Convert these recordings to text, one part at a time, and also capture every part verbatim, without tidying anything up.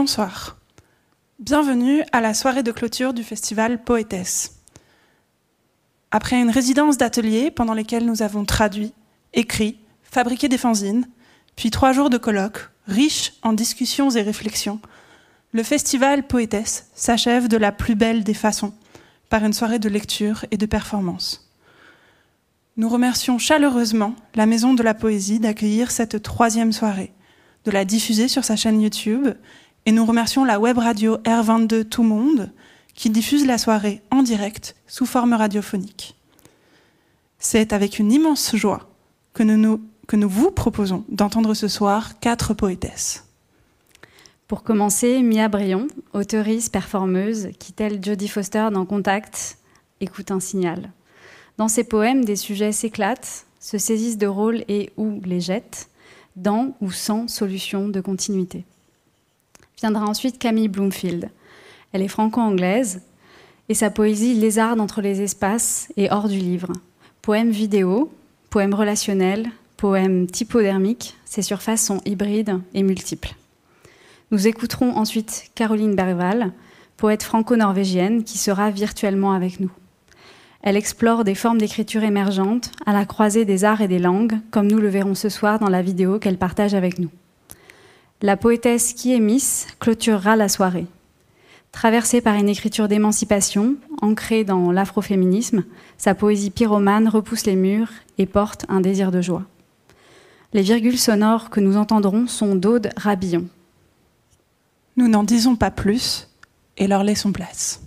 Bonsoir. Bienvenue à la soirée de clôture du festival Poétesse. Après une résidence d'ateliers pendant lesquels nous avons traduit, écrit, fabriqué des fanzines, puis trois jours de colloques, riches en discussions et réflexions, le festival Poétesse s'achève de la plus belle des façons, par une soirée de lecture et de performance. Nous remercions chaleureusement la Maison de la Poésie d'accueillir cette troisième soirée, de la diffuser sur sa chaîne YouTube, et nous remercions la web radio R vingt-deux Tout Monde qui diffuse la soirée en direct sous forme radiophonique. C'est avec une immense joie que nous, nous, que nous vous proposons d'entendre ce soir quatre poétesses. Pour commencer, Mia Brion, auteurice, performeuse, qui, telle Jodie Foster dans Contact, écoute un signal. Dans ses poèmes, des sujets s'éclatent, se saisissent de rôles et ou les jettent, dans ou sans solution de continuité. Viendra ensuite Camille Bloomfield. Elle est franco-anglaise et sa poésie lézarde entre les espaces et hors du livre. Poèmes vidéo, poèmes relationnels, poèmes typodermiques, ses surfaces sont hybrides et multiples. Nous écouterons ensuite Caroline Bergwall, poète franco-norvégienne qui sera virtuellement avec nous. Elle explore des formes d'écriture émergentes à la croisée des arts et des langues, comme nous le verrons ce soir dans la vidéo qu'elle partage avec nous. La poétesse qui est Miss clôturera la soirée. Traversée par une écriture d'émancipation, ancrée dans l'afroféminisme, sa poésie pyromane repousse les murs et porte un désir de joie. Les virgules sonores que nous entendrons sont d'Aude Rabillon. Nous n'en disons pas plus et leur laissons place.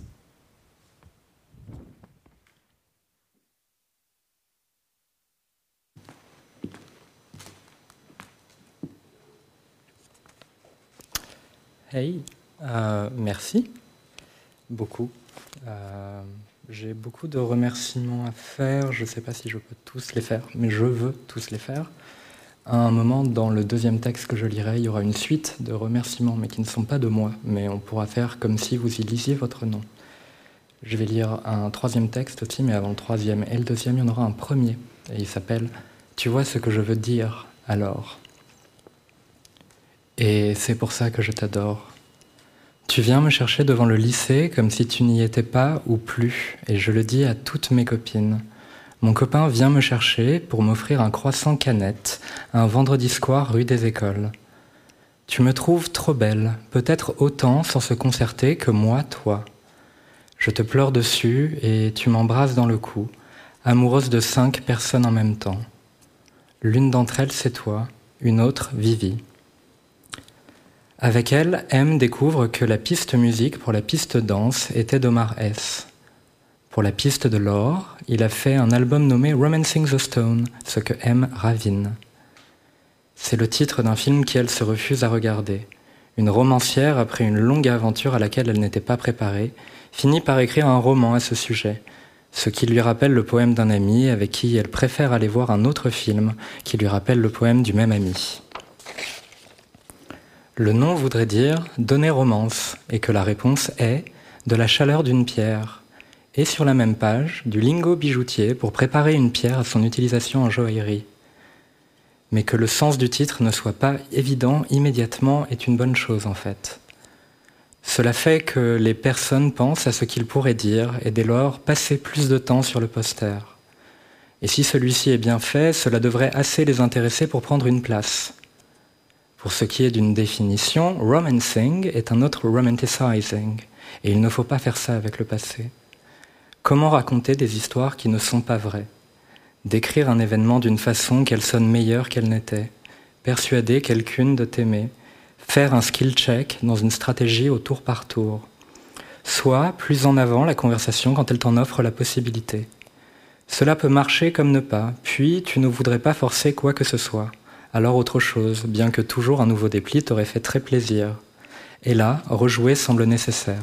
Hey, euh, merci beaucoup. Euh, j'ai beaucoup de remerciements à faire. Je ne sais pas si je peux tous les faire, mais je veux tous les faire. À un moment, dans le deuxième texte que je lirai, il y aura une suite de remerciements, mais qui ne sont pas de moi, mais on pourra faire comme si vous y lisiez votre nom. Je vais lire un troisième texte aussi, mais avant le troisième et le deuxième, il y en aura un premier, et il s'appelle « Tu vois ce que je veux dire, alors ?» Et c'est pour ça que je t'adore. Tu viens me chercher devant le lycée comme si tu n'y étais pas ou plus, et je le dis à toutes mes copines. Mon copain vient me chercher pour m'offrir un croissant canette, un vendredi soir rue des Écoles. Tu me trouves trop belle, peut-être autant sans se concerter que moi, toi. Je te pleure dessus et tu m'embrasses dans le cou, amoureuse de cinq personnes en même temps. L'une d'entre elles, c'est toi, une autre, Vivi. Avec elle, M découvre que la piste musique pour la piste danse était d'Omar S. Pour la piste de l'or, il a fait un album nommé Romancing the Stone, ce que M ravine. C'est le titre d'un film qu'elle se refuse à regarder. Une romancière, après une longue aventure à laquelle elle n'était pas préparée, finit par écrire un roman à ce sujet, ce qui lui rappelle le poème d'un ami avec qui elle préfère aller voir un autre film qui lui rappelle le poème du même ami. Le nom voudrait dire « donner romance » et que la réponse est « de la chaleur d'une pierre ». Et sur la même page, du lingot bijoutier pour préparer une pierre à son utilisation en joaillerie. Mais que le sens du titre ne soit pas évident immédiatement est une bonne chose en fait. Cela fait que les personnes pensent à ce qu'ils pourraient dire et dès lors passer plus de temps sur le poster. Et si celui-ci est bien fait, cela devrait assez les intéresser pour prendre une place. Pour ce qui est d'une définition, romancing est un autre romanticizing, et il ne faut pas faire ça avec le passé. Comment raconter des histoires qui ne sont pas vraies? Décrire un événement d'une façon qu'elle sonne meilleure qu'elle n'était, persuader quelqu'une de t'aimer, faire un skill check dans une stratégie au tour par tour. Soit plus en avant la conversation quand elle t'en offre la possibilité. Cela peut marcher comme ne pas, puis tu ne voudrais pas forcer quoi que ce soit. Alors autre chose, bien que toujours un nouveau dépli t'aurait fait très plaisir. Et là, rejouer semble nécessaire.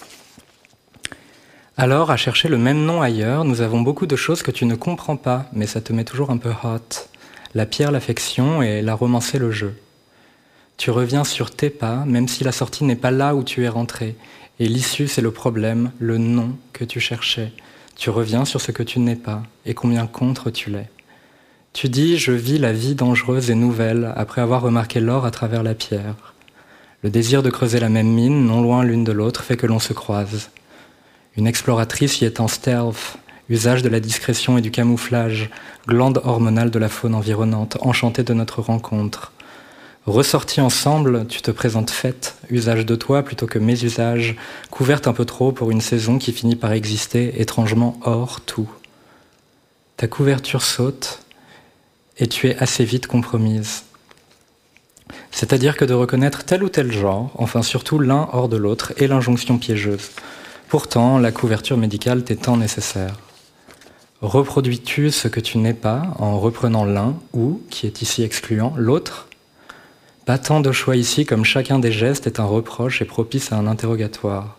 Alors, à chercher le même nom ailleurs, nous avons beaucoup de choses que tu ne comprends pas, mais ça te met toujours un peu hot. La pierre, l'affection et la romancer le jeu. Tu reviens sur tes pas, même si la sortie n'est pas là où tu es rentré. Et l'issue, c'est le problème, le nom que tu cherchais. Tu reviens sur ce que tu n'es pas, et combien contre tu l'es. Tu dis « je vis la vie dangereuse et nouvelle après avoir remarqué l'or à travers la pierre ». Le désir de creuser la même mine, non loin l'une de l'autre, fait que l'on se croise. Une exploratrice y est en stealth, usage de la discrétion et du camouflage, glande hormonale de la faune environnante, enchantée de notre rencontre. Ressortis ensemble, tu te présentes faite, usage de toi plutôt que mes usages, couverte un peu trop pour une saison qui finit par exister étrangement hors tout. Ta couverture saute et tu es assez vite compromise. C'est-à-dire que de reconnaître tel ou tel genre, enfin surtout l'un hors de l'autre, est l'injonction piégeuse. Pourtant, la couverture médicale t'est tant nécessaire. Reproduis-tu ce que tu n'es pas en reprenant l'un ou, qui est ici excluant, l'autre ? Pas tant de choix ici comme chacun des gestes est un reproche et propice à un interrogatoire.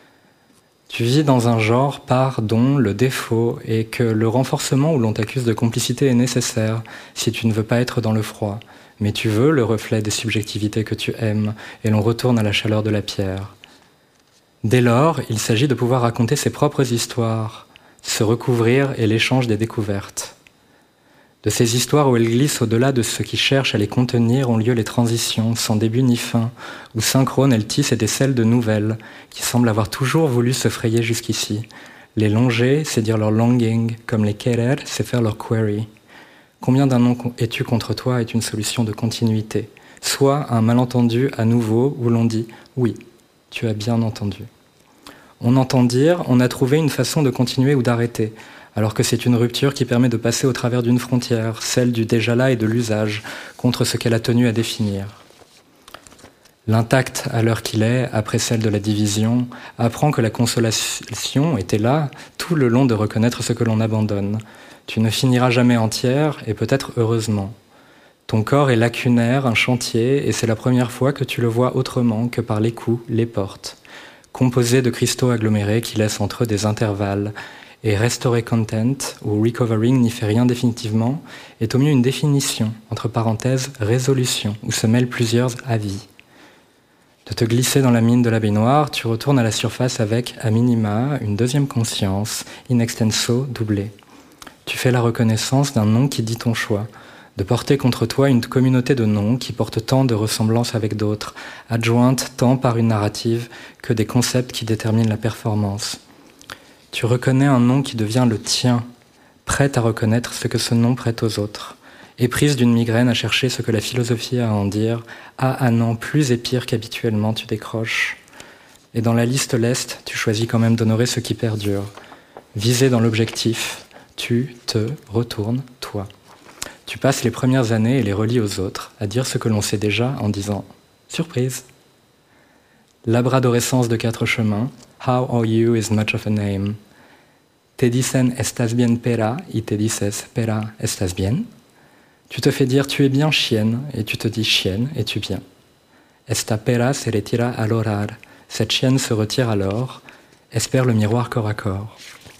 Tu vis dans un genre par dont le défaut est que le renforcement où l'on t'accuse de complicité est nécessaire si tu ne veux pas être dans le froid, mais tu veux le reflet des subjectivités que tu aimes et l'on retourne à la chaleur de la pierre. Dès lors, il s'agit de pouvoir raconter ses propres histoires, se recouvrir et l'échange des découvertes. De ces histoires où elles glissent au-delà de ce qui cherche à les contenir ont lieu les transitions, sans début ni fin, où synchrones elles tissent et décèlent de nouvelles, qui semblent avoir toujours voulu se frayer jusqu'ici. Les longer, c'est dire leur longing, comme les querer, c'est faire leur query. Combien d'un nom es-tu contre toi est une solution de continuité, soit un malentendu à nouveau où l'on dit « oui, tu as bien entendu ». On entend dire « on a trouvé une façon de continuer ou d'arrêter », alors que c'est une rupture qui permet de passer au travers d'une frontière, celle du déjà là et de l'usage, contre ce qu'elle a tenu à définir. L'intact à l'heure qu'il est, après celle de la division, apprend que la consolation était là tout le long de reconnaître ce que l'on abandonne. Tu ne finiras jamais entière, et peut-être heureusement. Ton corps est lacunaire, un chantier, et c'est la première fois que tu le vois autrement que par les coups, les portes, composé de cristaux agglomérés qui laissent entre eux des intervalles, et Restorer Content, ou Recovering n'y fait rien définitivement, est au mieux une définition, entre parenthèses, résolution, où se mêlent plusieurs avis. De te glisser dans la mine de la baignoire, tu retournes à la surface avec, à minima, une deuxième conscience, in extenso, doublée. Tu fais la reconnaissance d'un nom qui dit ton choix, de porter contre toi une communauté de noms qui portent tant de ressemblances avec d'autres, adjointes tant par une narrative que des concepts qui déterminent la performance. Tu reconnais un nom qui devient le tien, prête à reconnaître ce que ce nom prête aux autres, éprise d'une migraine à chercher ce que la philosophie a à en dire, ah ah non, plus et pire qu'habituellement tu décroches. Et dans la liste leste, tu choisis quand même d'honorer ce qui perdure. Visé dans l'objectif, tu te retournes, toi. Tu passes les premières années et les relis aux autres, à dire ce que l'on sait déjà en disant « surprise ». L'abradorescence de quatre chemins, How are you is much of a name. Te dicen estás bien pera y te dices pera estás bien. Tu te fais dire tu es bien chienne et tu te dis chienne et tu bien. Esta pera se retira al orar. Cette chienne se retire alors. Espère le miroir corps à corps.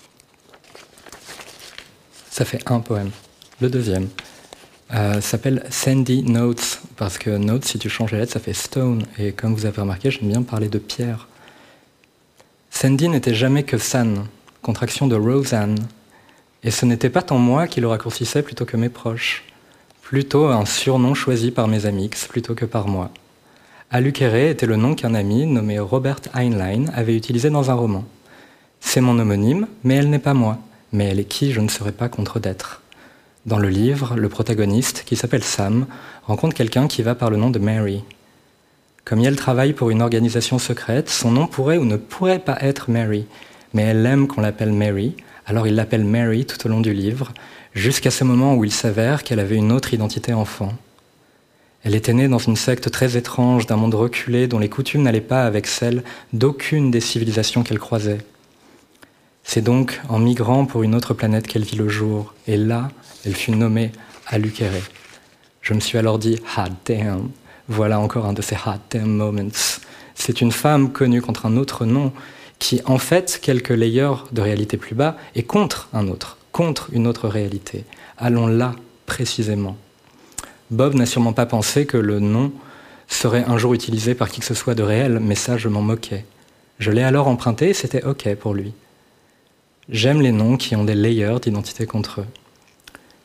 Ça fait un poème. Le deuxième euh, s'appelle Sandy Notes parce que Notes, si tu changes les lettres, ça fait stone. Et comme vous avez remarqué, j'aime bien parler de pierre. Sandy n'était jamais que San, contraction de Roseanne. Et ce n'était pas tant moi qui le raccourcissais plutôt que mes proches. Plutôt un surnom choisi par mes amis plutôt que par moi. Alukere était le nom qu'un ami nommé Robert Heinlein avait utilisé dans un roman. C'est mon homonyme, mais elle n'est pas moi. Mais elle est qui, je ne saurais pas contredêtre. Dans le livre, le protagoniste, qui s'appelle Sam, rencontre quelqu'un qui va par le nom de Mary. Comme elle travaille pour une organisation secrète, son nom pourrait ou ne pourrait pas être Mary, mais elle aime qu'on l'appelle Mary, alors il l'appelle Mary tout au long du livre, jusqu'à ce moment où il s'avère qu'elle avait une autre identité enfant. Elle était née dans une secte très étrange d'un monde reculé dont les coutumes n'allaient pas avec celles d'aucune des civilisations qu'elle croisait. C'est donc en migrant pour une autre planète qu'elle vit le jour, et là, elle fut nommée Alukere. Je me suis alors dit « hot damn ». Voilà encore un de ces hot damn moments. C'est une femme connue contre un autre nom qui, en fait, quelques layers de réalité plus bas, est contre un autre, contre une autre réalité. Allons là, précisément. Bob n'a sûrement pas pensé que le nom serait un jour utilisé par qui que ce soit de réel, mais ça, je m'en moquais. Je l'ai alors emprunté et c'était OK pour lui. J'aime les noms qui ont des layers d'identité contre eux.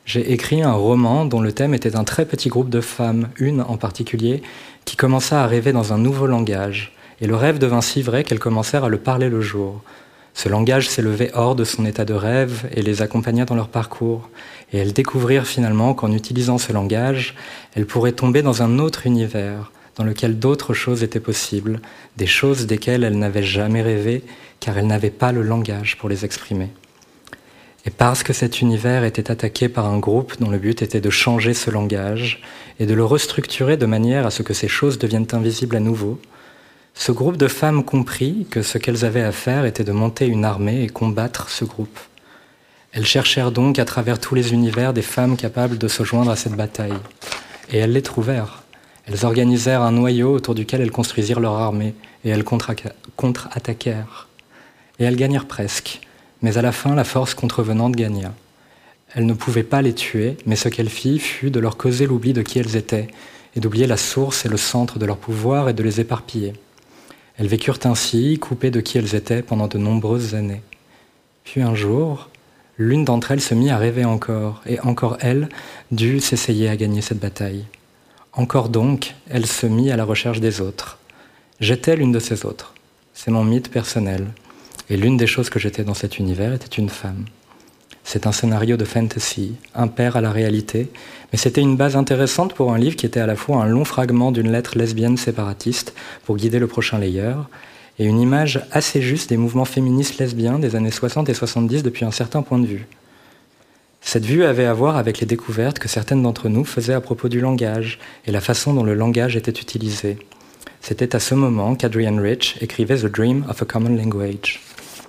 J'ai écrit un roman dont le thème était un très petit groupe de femmes, une en particulier, qui commença à rêver dans un nouveau langage, et le rêve devint si vrai qu'elles commencèrent à le parler le jour. Ce langage s'élevait hors de son état de rêve et les accompagna dans leur parcours, et elles découvrirent finalement qu'en utilisant ce langage, elles pourraient tomber dans un autre univers, dans lequel d'autres choses étaient possibles, des choses desquelles elles n'avaient jamais rêvé, car elles n'avaient pas le langage pour les exprimer. Et parce que cet univers était attaqué par un groupe dont le but était de changer ce langage et de le restructurer de manière à ce que ces choses deviennent invisibles à nouveau, ce groupe de femmes comprit que ce qu'elles avaient à faire était de monter une armée et combattre ce groupe. Elles cherchèrent donc à travers tous les univers des femmes capables de se joindre à cette bataille. Et elles les trouvèrent. Elles organisèrent un noyau autour duquel elles construisirent leur armée et elles contre-attaquèrent. Et elles gagnèrent presque, mais à la fin, la force contrevenante gagna. Elles ne pouvaient pas les tuer, mais ce qu'elles firent fut de leur causer l'oubli de qui elles étaient, et d'oublier la source et le centre de leur pouvoir et de les éparpiller. Elles vécurent ainsi, coupées de qui elles étaient pendant de nombreuses années. Puis un jour, l'une d'entre elles se mit à rêver encore, et encore elle dut s'essayer à gagner cette bataille. Encore donc, elle se mit à la recherche des autres. J'étais l'une de ces autres. C'est mon mythe personnel. Et l'une des choses que j'étais dans cet univers était une femme. C'est un scénario de fantasy, impair à la réalité, mais c'était une base intéressante pour un livre qui était à la fois un long fragment d'une lettre lesbienne séparatiste pour guider le prochain layeur, et une image assez juste des mouvements féministes lesbiens des années soixante et soixante-dix depuis un certain point de vue. Cette vue avait à voir avec les découvertes que certaines d'entre nous faisaient à propos du langage et la façon dont le langage était utilisé. C'était à ce moment qu'Adrienne Rich écrivait The Dream of a Common Language.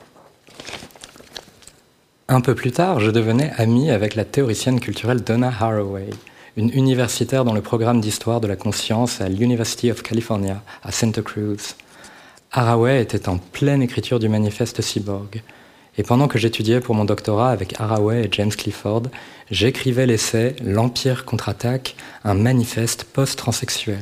Un peu plus tard, je devenais ami avec la théoricienne culturelle Donna Haraway, une universitaire dans le programme d'histoire de la conscience à l'University of California, à Santa Cruz. Haraway était en pleine écriture du manifeste cyborg. Et pendant que j'étudiais pour mon doctorat avec Haraway et James Clifford, j'écrivais l'essai « L'Empire contre-attaque, un manifeste post-transsexuel ».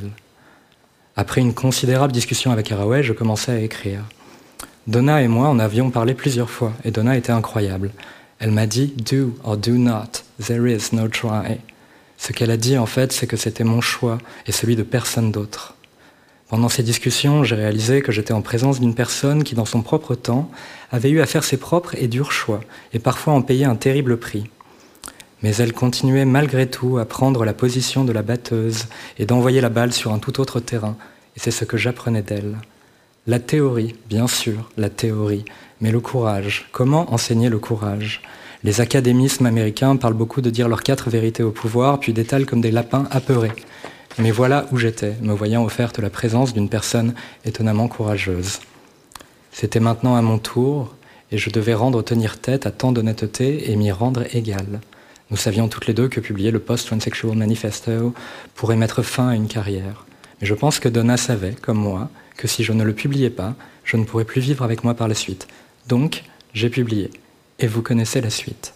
Après une considérable discussion avec Haraway, je commençais à écrire. Donna et moi en avions parlé plusieurs fois, et Donna était incroyable. Elle m'a dit « do or do not, there is no try ». Ce qu'elle a dit en fait, c'est que c'était mon choix et celui de personne d'autre. Pendant ces discussions, j'ai réalisé que j'étais en présence d'une personne qui, dans son propre temps, avait eu à faire ses propres et durs choix, et parfois en payer un terrible prix. Mais elle continuait malgré tout à prendre la position de la batteuse et d'envoyer la balle sur un tout autre terrain, et c'est ce que j'apprenais d'elle. La théorie, bien sûr, la théorie, mais le courage. Comment enseigner le courage ? Les académismes américains parlent beaucoup de dire leurs quatre vérités au pouvoir, puis d'étalent comme des lapins apeurés. Mais voilà où j'étais, me voyant offerte la présence d'une personne étonnamment courageuse. C'était maintenant à mon tour, et je devais rendre tenir tête à tant d'honnêteté et m'y rendre égal. Nous savions toutes les deux que publier le Post-Transsexual Manifesto pourrait mettre fin à une carrière. Mais je pense que Donna savait, comme moi, que si je ne le publiais pas, je ne pourrais plus vivre avec moi par la suite. Donc, j'ai publié. Et vous connaissez la suite.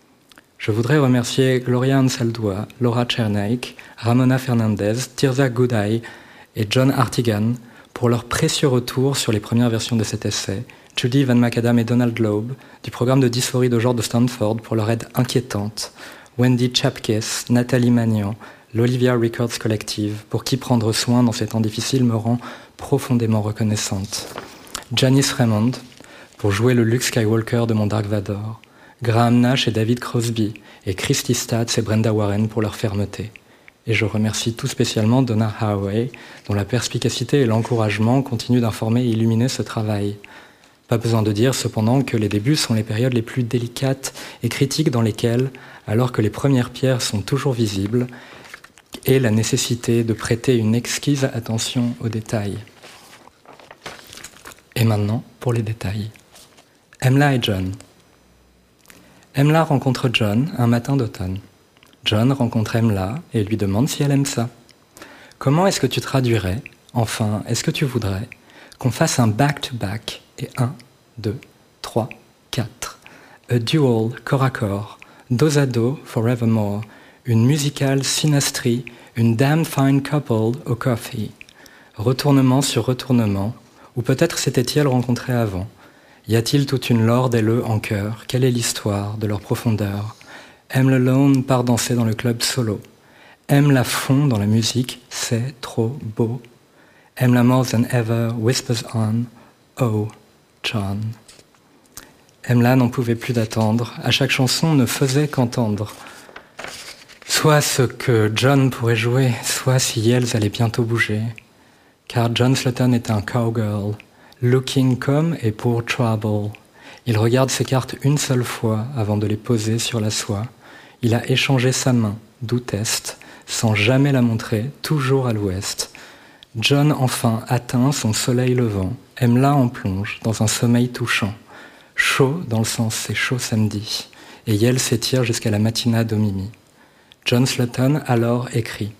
Je voudrais remercier Gloria Anzaldúa, Laura Czernaik, Ramona Fernandez, Tirza Goudaï et John Artigan pour leur précieux retour sur les premières versions de cet essai, Judy Van Macadam et Donald Loeb du programme de dysphorie de genre de Stanford pour leur aide inquiétante, Wendy Chapkis, Nathalie Magnan, l'Olivia Records Collective, pour qui prendre soin dans ces temps difficiles me rend profondément reconnaissante, Janice Raymond, pour jouer le Luke Skywalker de mon Dark Vador, Graham Nash et David Crosby, et Christy Statz et Brenda Warren pour leur fermeté. Et je remercie tout spécialement Donna Haraway, dont la perspicacité et l'encouragement continuent d'informer et illuminer ce travail. Pas besoin de dire cependant que les débuts sont les périodes les plus délicates et critiques dans lesquelles, alors que les premières pierres sont toujours visibles, est la nécessité de prêter une exquise attention aux détails. Et maintenant, pour les détails. Emla et John. Emla rencontre John un matin d'automne. John rencontre Emla et lui demande si elle aime ça. Comment est-ce que tu traduirais, enfin, est-ce que tu voudrais, qu'on fasse un back-to-back et un, deux, trois, quatre. A duel, corps à corps, dos à dos, forevermore, une musicale synastrie, une damn fine couple au coffee. Retournement sur retournement, ou peut-être s'étaient-ils rencontrés avant. Y a-t-il toute une lore d'L E en cœur? Quelle est l'histoire de leur profondeur? aime le lone, part danser dans le club solo. Aime la fond dans la musique, c'est trop beau. Aime la more than ever, whispers on, oh, John. Aime-la n'en pouvait plus d'attendre, à chaque chanson ne faisait qu'entendre. Soit ce que John pourrait jouer, soit si Yells allait bientôt bouger. Car John Slutton est un cowgirl, looking comme et pour trouble. Il regarde ses cartes une seule fois avant de les poser sur la soie. Il a échangé sa main, d'où test, sans jamais la montrer, toujours à l'ouest. John enfin atteint son soleil levant, aime-la en plonge dans un sommeil touchant. Chaud dans le sens c'est chaud samedi, et Yells s'étire jusqu'à la matinade au Mimi. John Slutton alors écrit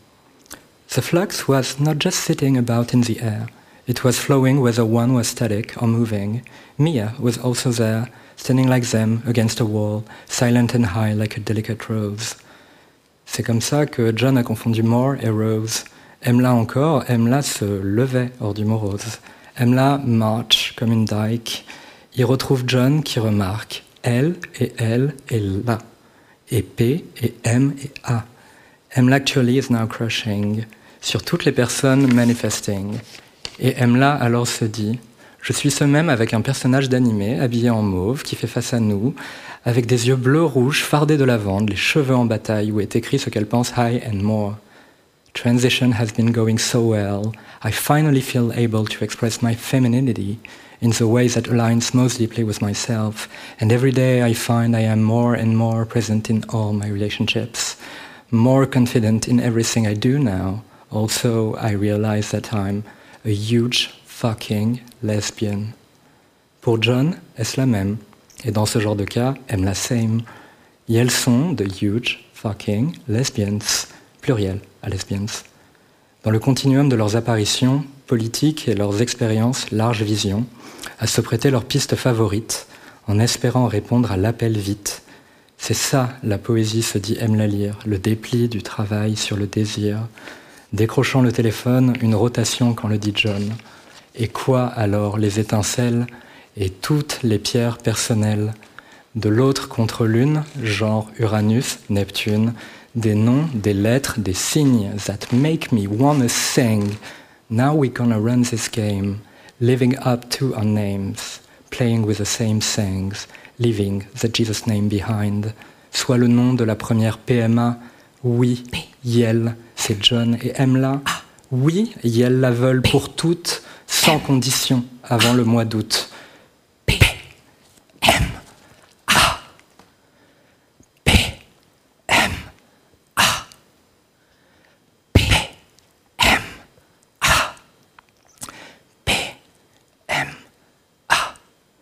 « The flux was not just sitting about in the air, it was flowing whether one was static or moving. Mia was also there, standing like them against a wall, silent and high like a delicate rose. » C'est comme ça que John a confondu More et Rose. Aime-la encore, aime-la se levait hors du morose. Aime-la marche comme une dyke. Il retrouve John qui remarque elle et elle et là. Et P et M et A. Aime-la actually is now crushing sur toutes les personnes manifesting. Et aime-la alors se dit je suis ce même avec un personnage d'animé habillé en mauve qui fait face à nous, avec des yeux bleus rouges fardés de lavande, les cheveux en bataille où est écrit ce qu'elle pense high and more. Transition has been going so well. I finally feel able to express my femininity in the way that aligns most deeply with myself. And every day I find I am more and more present in all my relationships, more confident in everything I do now. Also, I realize that I'm a huge fucking lesbian. Pour John, est-ce la même? Et dans ce genre de cas, aime la same. Et elles sont de huge fucking lesbians, pluriel à lesbians. Dans le continuum de leurs apparitions politiques et leurs expériences large vision, à se prêter leurs pistes favorites, en espérant répondre à l'appel vite. C'est ça, la poésie se dit aime la lire, le dépli du travail sur le désir. Décrochant le téléphone, une rotation quand le dit John. Et quoi alors les étincelles et toutes les pierres personnelles? De l'autre contre l'une, genre Uranus, Neptune, des noms, des lettres, des signes that make me wanna sing. Now we gonna run this game, living up to our names, playing with the same things, leaving the Jesus name behind. Soit le nom de la première P M A, oui, Yel, c'est John et aime-la. Oui, Yel la veulent pour toutes, sans condition, avant le mois d'août. P M A P M A P M A P M A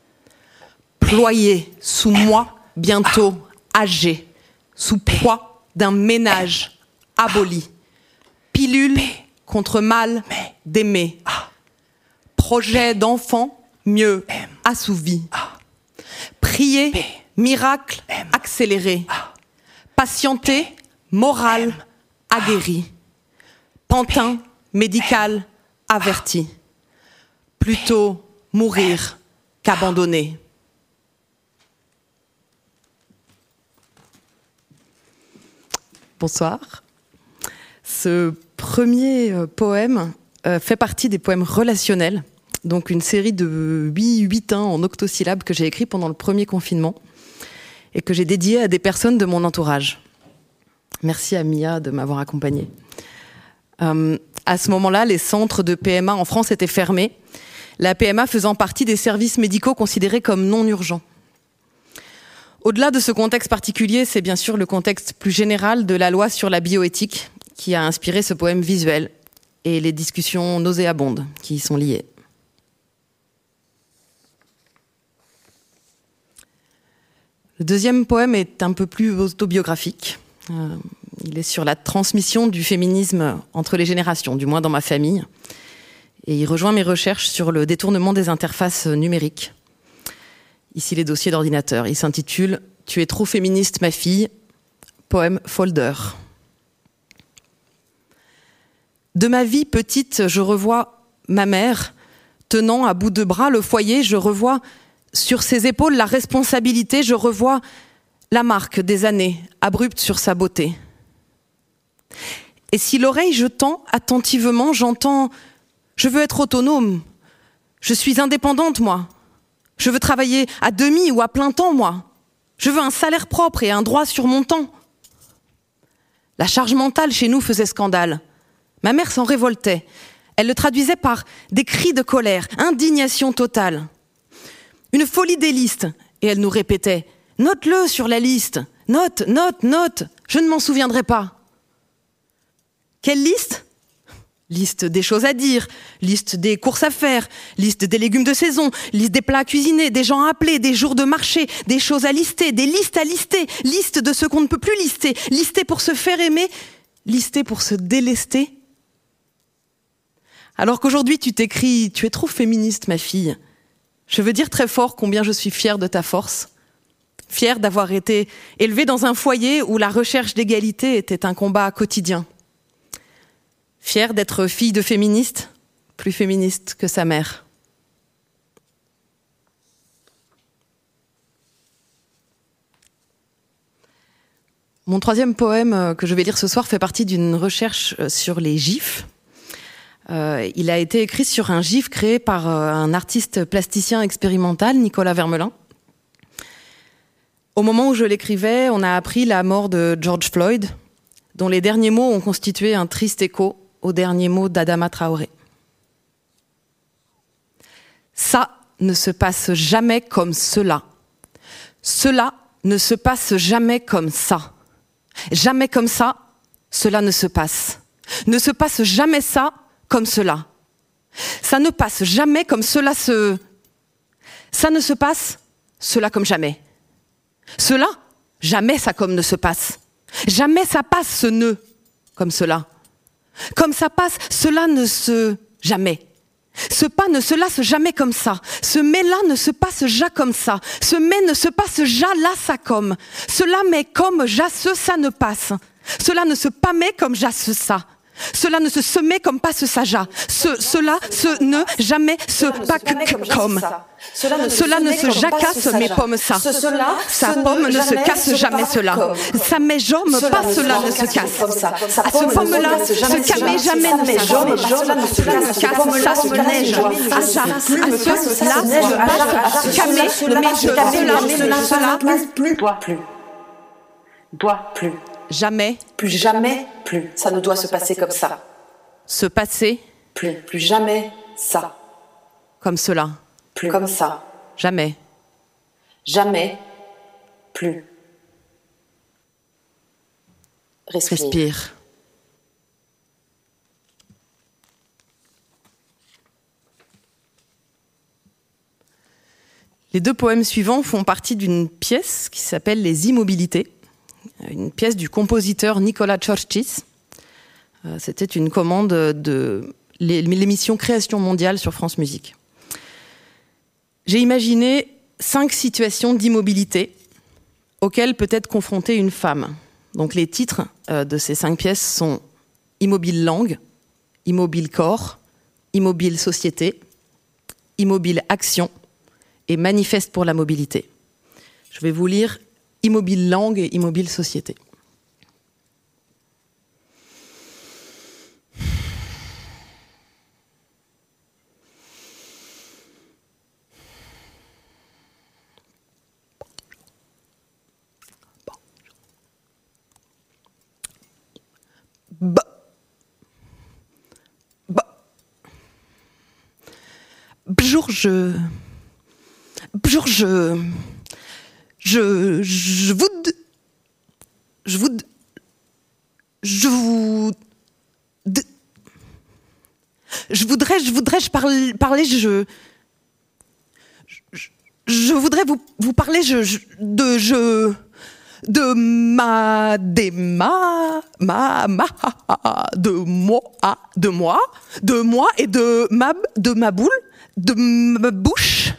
Ployé sous moi, bientôt âgé, sous poids d'un ménage aboli. Pilule contre mal d'aimer. Projet d'enfant mieux assouvi. Prier, miracle accéléré. Patienter, morale aguerrie. Pantin médical averti. Plutôt mourir qu'abandonner. Bonsoir. Ce premier poème euh, fait partie des poèmes relationnels, donc une série de huit huitains en octosyllabes que j'ai écrit pendant le premier confinement et que j'ai dédié à des personnes de mon entourage. Merci à Mia de m'avoir accompagnée. Euh, à ce moment-là, les centres de P M A en France étaient fermés, la P M A faisant partie des services médicaux considérés comme non urgents. Au-delà de ce contexte particulier, c'est bien sûr le contexte plus général de la loi sur la bioéthique qui a inspiré ce poème visuel et les discussions nauséabondes qui y sont liées. Le deuxième poème est un peu plus autobiographique. Euh, il est sur la transmission du féminisme entre les générations, du moins dans ma famille. Et il rejoint mes recherches sur le détournement des interfaces numériques. Ici, les dossiers d'ordinateur. Il s'intitule « Tu es trop féministe, ma fille », poème folder. De ma vie petite, je revois ma mère tenant à bout de bras le foyer. Je revois sur ses épaules la responsabilité. Je revois la marque des années abruptes sur sa beauté. Et si l'oreille je tends attentivement, j'entends « Je veux être autonome, je suis indépendante, moi. Je veux travailler à demi ou à plein temps, moi. Je veux un salaire propre et un droit sur mon temps. » La charge mentale chez nous faisait scandale. Ma mère s'en révoltait. Elle le traduisait par des cris de colère, indignation totale. Une folie des listes. Et elle nous répétait « Note-le sur la liste. Note, note, note. Je ne m'en souviendrai pas. » Quelle liste ? Liste des choses à dire, liste des courses à faire, liste des légumes de saison, liste des plats à cuisiner, des gens à appeler, des jours de marché, des choses à lister, des listes à lister, liste de ce qu'on ne peut plus lister, lister pour se faire aimer, lister pour se délester. Alors qu'aujourd'hui tu t'écris « Tu es trop féministe, ma fille », je veux dire très fort combien je suis fière de ta force, fière d'avoir été élevée dans un foyer où la recherche d'égalité était un combat quotidien. Fière d'être fille de féministe, plus féministe que sa mère. Mon troisième poème que je vais lire ce soir fait partie d'une recherche sur les gifs. Euh, il a été écrit sur un gif créé par un artiste plasticien expérimental, Nicolas Vermelin. Au moment où je l'écrivais, on a appris la mort de George Floyd, dont les derniers mots ont constitué un triste écho aux derniers mots d'Adama Traoré. Ça ne se passe jamais comme cela. Cela ne se passe jamais comme ça. Jamais comme ça, cela ne se passe. Ne se passe jamais ça comme cela. Ça ne passe jamais comme cela se... Ça ne se passe, cela comme jamais. Cela, jamais ça comme ne se passe. Jamais ça passe ce nœud comme cela. Comme ça passe, cela ne se... jamais. Ce pas ne se lasse jamais comme ça. Ce mais-là ne se passe ja comme ça. Ce mais ne se passe ja là ça comme. Cela mais comme ja ce ça ne passe. Cela ne se pas mais comme ja ce ça. Cela ne se semait comme pas ce saja. Ce, cela, ce ne, jamais, ce pas que, que comme. Cela ne, cela ne se jacasse mais pomme ça. Ce, cela, sa pomme ne se casse jamais cela. Ça met jomme pas cela ne se casse. À ce pomme-là, ce camé jamais ne se jomme. Cela ne se casse ça se neige. À ça, à ce là, ce camé, mais je, cela, cela, plus, doit plus. Doit plus. Jamais. Plus jamais, plus. Ça ne doit se passer comme ça. Se passer. Plus. Plus jamais ça. Comme cela. Plus. Comme ça. Jamais. Jamais. Plus. Respire. Respire. Les deux poèmes suivants font partie d'une pièce qui s'appelle Les Immobilités. Une pièce du compositeur Nicolas Chorchis. C'était une commande de l'émission Création mondiale sur France Musique. J'ai imaginé cinq situations d'immobilité auxquelles peut être confrontée une femme. Donc les titres de ces cinq pièces sont Immobile langue, Immobile corps, Immobile société, Immobile action et Manifeste pour la mobilité. Je vais vous lire Immobile langue et Immobile société. Bah. Bah. Bonjour, je... Bonjour, je... Je... Je vous... Je vous... Je vous... Je voudrais... Je voudrais... Je parler... parler je... Je, je voudrais vous, vous parler je, je, de... Je... De ma, des ma, ma, ma, de moi, de moi, de moi et de ma, de ma boule, de ma bouche.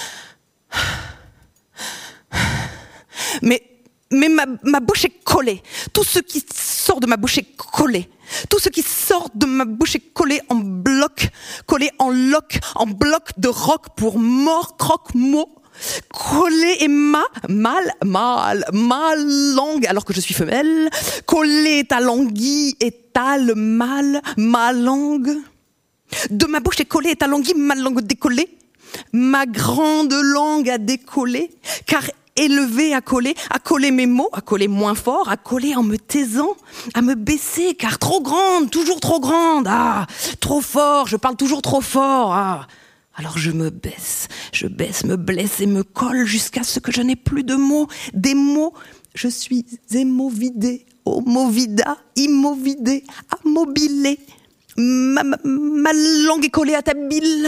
Mais, mais ma, ma bouche est collée. Tout ce qui sort de ma bouche est collé. Tout ce qui sort de ma bouche est collé en bloc, collé en loc, en bloc de roc pour mort, croque, mot. Coller est ma, mal, mal, ma langue, alors que je suis femelle. Coller ta languille et ta le mal, ma langue. De ma bouche est collée ta languille, ma langue décollée. Ma grande langue a décollé, car élevée à coller, à coller mes mots, à coller moins fort, à coller en me taisant, à me baisser, car trop grande, toujours trop grande, ah, trop fort, je parle toujours trop fort, ah. Alors je me baisse, je baisse, me blesse et me colle jusqu'à ce que je n'ai plus de mots, des mots, je suis émovidée, homovida, immovidée, amobilée, ma, ma, ma langue est collée à ta bile.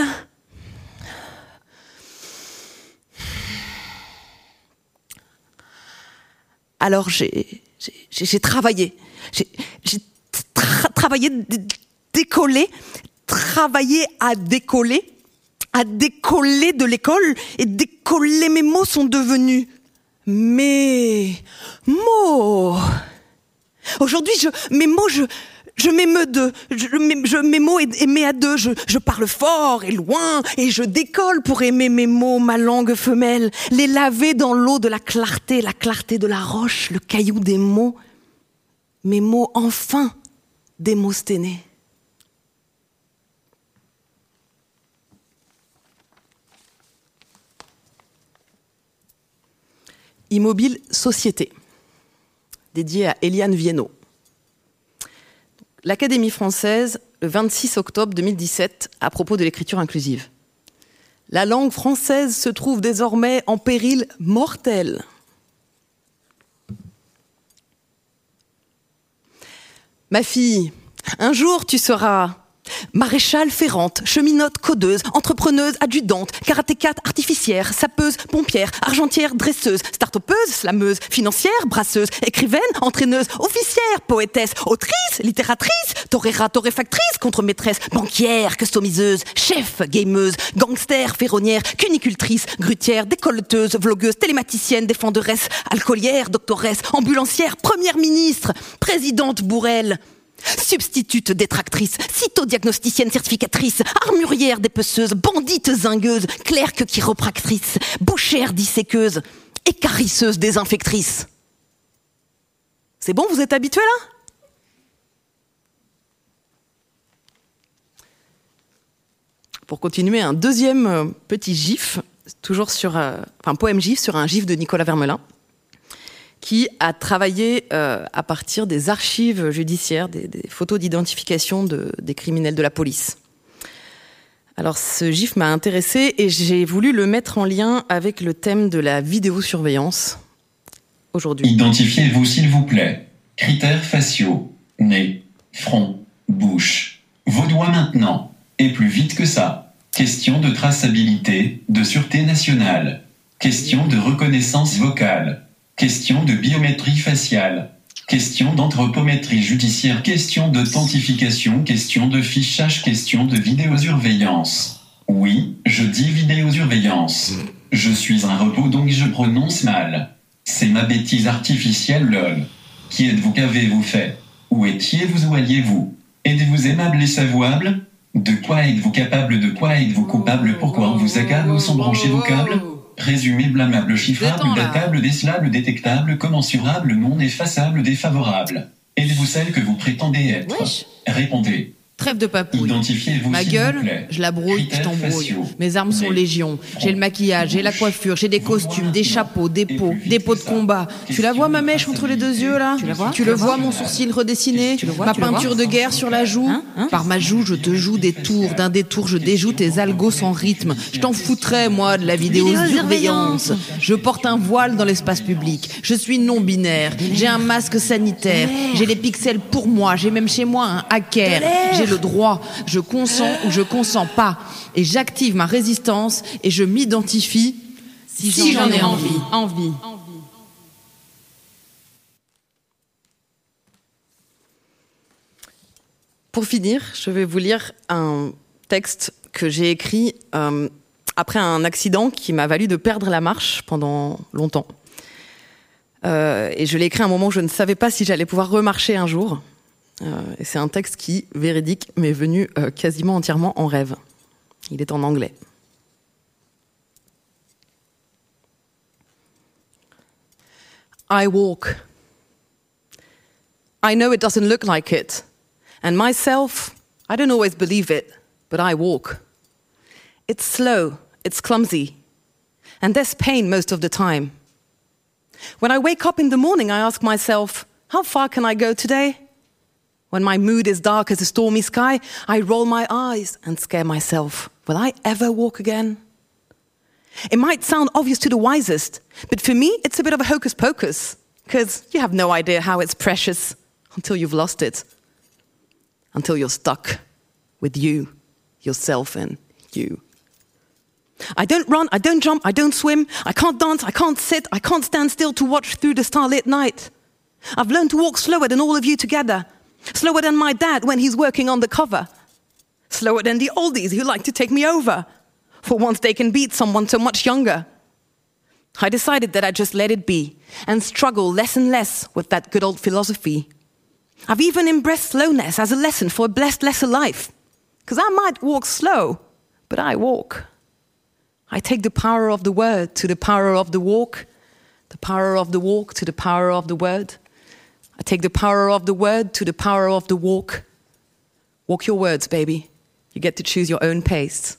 Alors j'ai, j'ai, j'ai travaillé, j'ai, j'ai tra- travaillé, d- décollé, travaillé à décoller, à décoller de l'école, et décoller mes mots sont devenus mes mots. Aujourd'hui, je, mes mots, je, je m'émeus d'eux, je, je, mes mots aimés à deux, je, je parle fort et loin, et je décolle pour aimer mes mots, ma langue femelle, les laver dans l'eau de la clarté, la clarté de la roche, le caillou des mots, mes mots enfin démosténés. Immobile Société, dédié à Eliane Viennot. L'Académie française, le vingt-six octobre deux mille dix-sept, à propos de l'écriture inclusive. La langue française se trouve désormais en péril mortel. Ma fille, un jour tu seras maréchale ferrante, cheminote codeuse, entrepreneuse adjudante, karatékate artificière, sapeuse, pompière, argentière dresseuse, start-upeuse, slameuse, financière, brasseuse, écrivaine, entraîneuse, officière, poétesse, autrice, littératrice, torera, torréfactrice, contre-maîtresse, banquière, customiseuse, chef, gameuse, gangster, ferronnière, cunicultrice, grutière, décolleteuse, vlogueuse, télématicienne, défenderesse, alcoolière, doctoresse, ambulancière, première ministre, présidente bourrelle, substitute détractrice, cytodiagnosticienne certificatrice, armurière dépeceuse, bandite zingueuse, clerque chiropractrice, bouchère disséqueuse, écarisseuse désinfectrice. C'est bon, vous êtes habitués là ? Pour continuer, un deuxième petit gif, toujours sur, euh, enfin poème gif sur un gif de Nicolas Vermelin, qui a travaillé euh, à partir des archives judiciaires, des, des photos d'identification de, des criminels de la police. Alors ce gif m'a intéressée et j'ai voulu le mettre en lien avec le thème de la vidéosurveillance aujourd'hui. Identifiez-vous s'il vous plaît. Critères faciaux, nez, front, bouche. Vos doigts maintenant, et plus vite que ça. Question de traçabilité, de sûreté nationale. Question de reconnaissance vocale. Question de biométrie faciale, question d'anthropométrie judiciaire, question d'authentification, question de fichage, question de vidéosurveillance. Oui, je dis vidéosurveillance. Je suis un robot donc je prononce mal. C'est ma bêtise artificielle lol. Qui êtes-vous, qu'avez-vous fait? Où étiez-vous, où alliez-vous? Êtes-vous aimable et savouable? De quoi êtes-vous capable, de quoi êtes-vous coupable? Pourquoi on vous accable, où sont branchés vos câbles? Présumé blâmable, chiffrable, datable, décelable, détectable, commensurable, non effaçable, défavorable. Êtes-vous celle que vous prétendez être? Wesh. Répondez. Trêve de papouille. Identifiez-vous Ma s'il gueule, vous plaît. je la brouille, je Critères t'embrouille. faciaux. Mes armes sont Nez, légion. J'ai le maquillage, j'ai la coiffure, j'ai des costumes, des chapeaux, des pots, des pots de combat. Tu la vois ma mèche entre les deux yeux là? Tu la vois? Tu le vois mon sourcil redessiné? Tu le vois? Ma peinture de guerre sur la joue? Hein? Hein? Par ma joue, je te joue des tours. D'un détour, je déjoue tes algos sans rythme. Je t'en foutrais moi de la vidéosurveillance. Je porte un voile dans l'espace public. Je suis non binaire. J'ai un masque sanitaire. J'ai les pixels pour moi. J'ai même chez moi un hacker. J'ai le droit. Je consens ou je consens pas. Et j'active ma résistance et je m'identifie si, si j'en ai envie. envie. Pour finir, je vais vous lire un texte que j'ai écrit euh, après un accident qui m'a valu de perdre la marche pendant longtemps. Euh, et je l'ai écrit à un moment où je ne savais pas si j'allais pouvoir remarcher un jour. Euh, et c'est un texte qui, véridique, m'est venu euh, quasiment entièrement en rêve. Il est en anglais. I walk. I know it doesn't look like it. And myself, I don't always believe it, but I walk. It's slow, it's clumsy, and there's pain most of the time. When I wake up in the morning, I ask myself, how far can I go today? When my mood is dark as a stormy sky, I roll my eyes and scare myself. Will I ever walk again? It might sound obvious to the wisest, but for me, it's a bit of a hocus pocus, because you have no idea how it's precious until you've lost it, until you're stuck with you, yourself and you. I don't run, I don't jump, I don't swim, I can't dance, I can't sit, I can't stand still to watch through the starlit night. I've learned to walk slower than all of you together, slower than my dad when he's working on the cover, slower than the oldies who like to take me over, for once they can beat someone so much younger. I decided that I'd just let it be and struggle less and less with that good old philosophy. I've even embraced slowness as a lesson for a blessed lesser life, because I might walk slow, but I walk. I take the power of the word to the power of the walk, the power of the walk to the power of the word. I take the power of the word to the power of the walk. Walk your words, baby. You get to choose your own pace.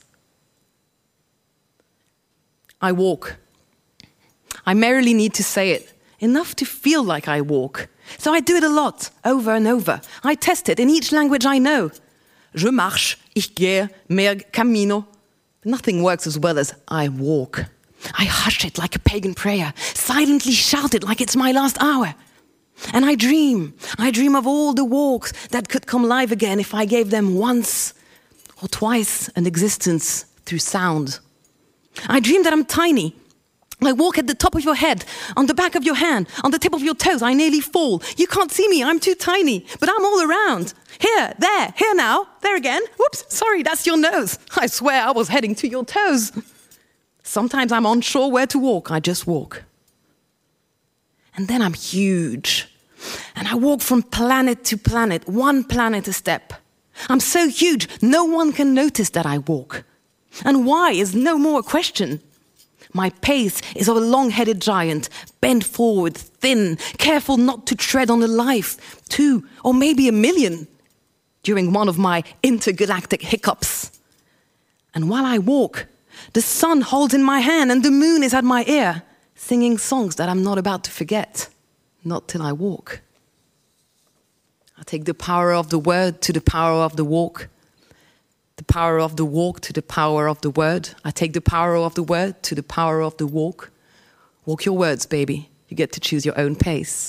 I walk. I merely need to say it, enough to feel like I walk. So I do it a lot, over and over. I test it in each language I know. Je marche, ich gehe, merg, camino. Nothing works as well as I walk. I hush it like a pagan prayer, silently shout it like it's my last hour. And I dream. I dream of all the walks that could come live again if I gave them once or twice an existence through sound. I dream that I'm tiny. I walk at the top of your head, on the back of your hand, on the tip of your toes. I nearly fall. You can't see me. I'm too tiny, but I'm all around. Here, there, here now, there again. Whoops, sorry, that's your nose. I swear I was heading to your toes. Sometimes I'm unsure where to walk. I just walk. And then I'm huge. And I walk from planet to planet, one planet a step. I'm so huge, no one can notice that I walk. And why is no more a question. My pace is of a long-headed giant, bent forward, thin, careful not to tread on a life, two or maybe a million, during one of my intergalactic hiccups. And while I walk, the sun holds in my hand and the moon is at my ear, singing songs that I'm not about to forget, not till I walk. I take the power of the word to the power of the walk, the power of the walk to the power of the word. I take the power of the word to the power of the walk. Walk your words, baby. You get to choose your own pace.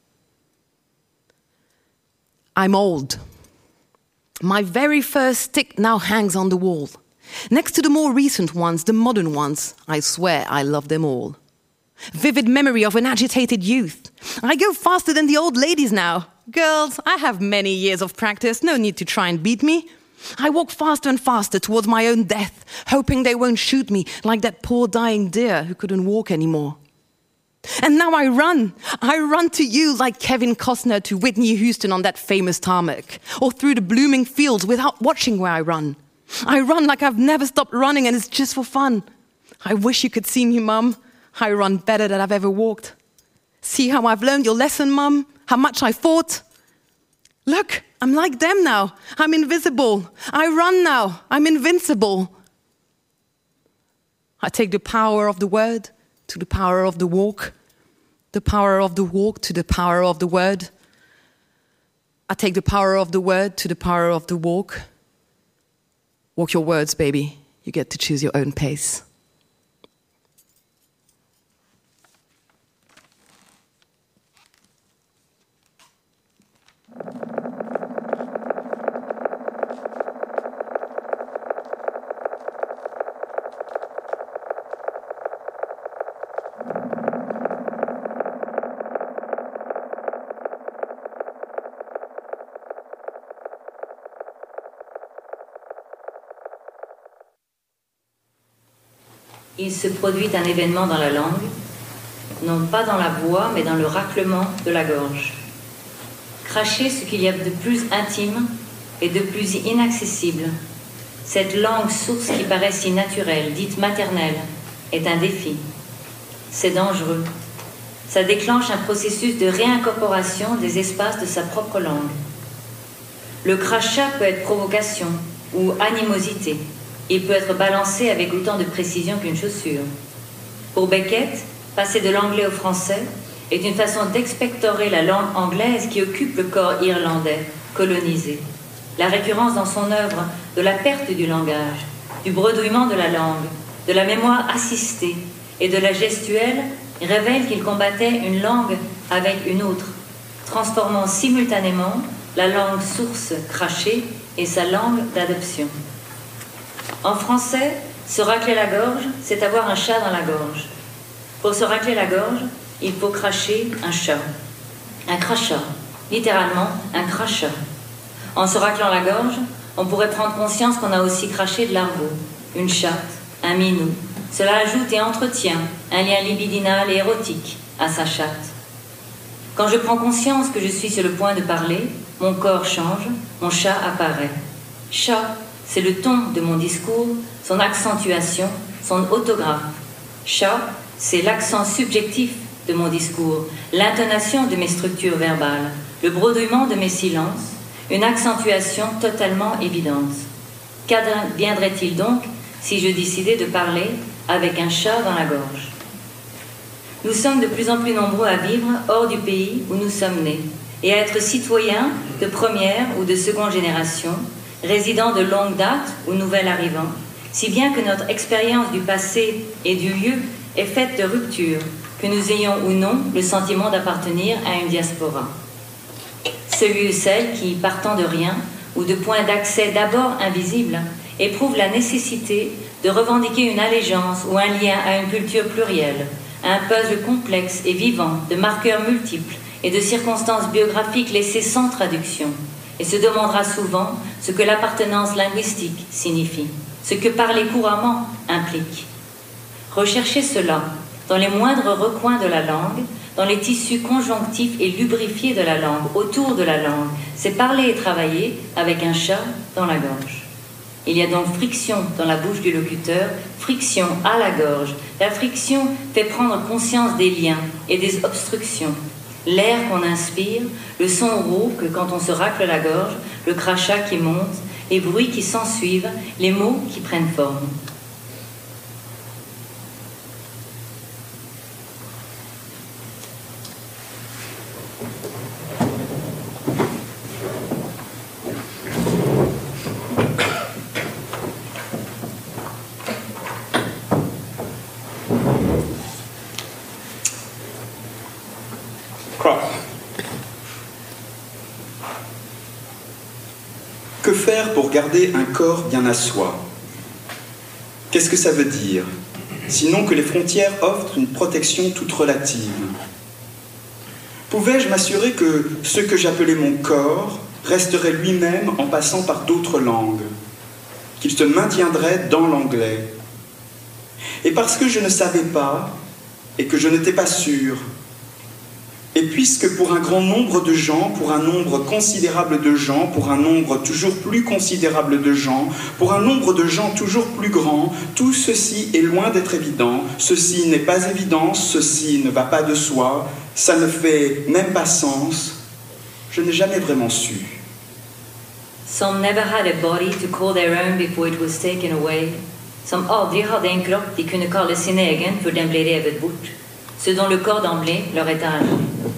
I'm old. My very first stick now hangs on the wall. Next to the more recent ones, the modern ones, I swear I love them all. Vivid memory of an agitated youth. I go faster than the old ladies now. Girls, I have many years of practice. No need to try and beat me. I walk faster and faster towards my own death, hoping they won't shoot me like that poor dying deer who couldn't walk anymore. And now I run. I run to you like Kevin Costner to Whitney Houston on that famous tarmac, or through the blooming fields without watching where I run. I run like I've never stopped running and it's just for fun. I wish you could see me, Mum. I run better than I've ever walked. See how I've learned your lesson, Mum? How much I fought? Look, I'm like them now. I'm invisible. I run now. I'm invincible. I take the power of the word to the power of the walk, the power of the walk to the power of the word. I take the power of the word to the power of the walk. Walk your words, baby. You get to choose your own pace. Il se produit un événement dans la langue, non pas dans la voix, mais dans le raclement de la gorge. Cracher ce qu'il y a de plus intime et de plus inaccessible. Cette langue source qui paraît si naturelle, dite maternelle, est un défi. C'est dangereux. Ça déclenche un processus de réincorporation des espaces de sa propre langue. Le crachat peut être provocation ou animosité. Il peut être balancé avec autant de précision qu'une chaussure. Pour Beckett, passer de l'anglais au français est une façon d'expectorer la langue anglaise qui occupe le corps irlandais, colonisé. La récurrence dans son œuvre de la perte du langage, du bredouillement de la langue, de la mémoire assistée et de la gestuelle révèle qu'il combattait une langue avec une autre, transformant simultanément la langue source crachée et sa langue d'adoption. En français, se racler la gorge, c'est avoir un chat dans la gorge. Pour se racler la gorge, il faut cracher un chat. Un crachat, littéralement un crachat. En se raclant la gorge, on pourrait prendre conscience qu'on a aussi craché de l'argot, une chatte, un minou. Cela ajoute et entretient un lien libidinal et érotique à sa chatte. Quand je prends conscience que je suis sur le point de parler, mon corps change, mon chat apparaît. Chat, c'est le ton de mon discours, son accentuation, son autographe. Chat, c'est l'accent subjectif de mon discours, l'intonation de mes structures verbales, le bredouillement de mes silences, une accentuation totalement évidente. Qu'adviendrait-il donc si je décidais de parler avec un chat dans la gorge? Nous sommes de plus en plus nombreux à vivre hors du pays où nous sommes nés et à être citoyens de première ou de seconde génération, résidents de longue date ou nouvel arrivants, si bien que notre expérience du passé et du lieu est faite de rupture, que nous ayons ou non le sentiment d'appartenir à une diaspora. Celui ou celle qui, partant de rien ou de points d'accès d'abord invisibles, éprouve la nécessité de revendiquer une allégeance ou un lien à une culture plurielle, à un puzzle complexe et vivant de marqueurs multiples et de circonstances biographiques laissées sans traduction, et se demandera souvent ce que l'appartenance linguistique signifie, ce que parler couramment implique. Rechercher cela dans les moindres recoins de la langue, dans les tissus conjonctifs et lubrifiés de la langue, autour de la langue, c'est parler et travailler avec un chat dans la gorge. Il y a donc friction dans la bouche du locuteur, friction à la gorge. La friction fait prendre conscience des liens et des obstructions. L'air qu'on inspire, le son rauque quand on se racle la gorge, le crachat qui monte, les bruits qui s'ensuivent, les mots qui prennent forme. Que faire pour garder un corps bien à soi? Qu'est-ce que ça veut dire? Sinon que les frontières offrent une protection toute relative. Pouvais-je m'assurer que ce que j'appelais mon corps resterait lui-même en passant par d'autres langues, qu'il se maintiendrait dans l'anglais? Et parce que je ne savais pas, et que je n'étais pas sûr, et puisque pour un grand nombre de gens, pour un nombre considérable de gens, pour un nombre toujours plus considérable de gens, pour un nombre de gens toujours plus grand, tout ceci est loin d'être évident, ceci n'est pas évident, ceci ne va pas de soi, ça ne fait même pas sens, je n'ai jamais vraiment su. Some never had a body to call their own before it was taken away. Som aldrig hade en kropp de kunde kalla sin egen för den blev revet bort. Ce dont le corps d'emblée leur est arraché.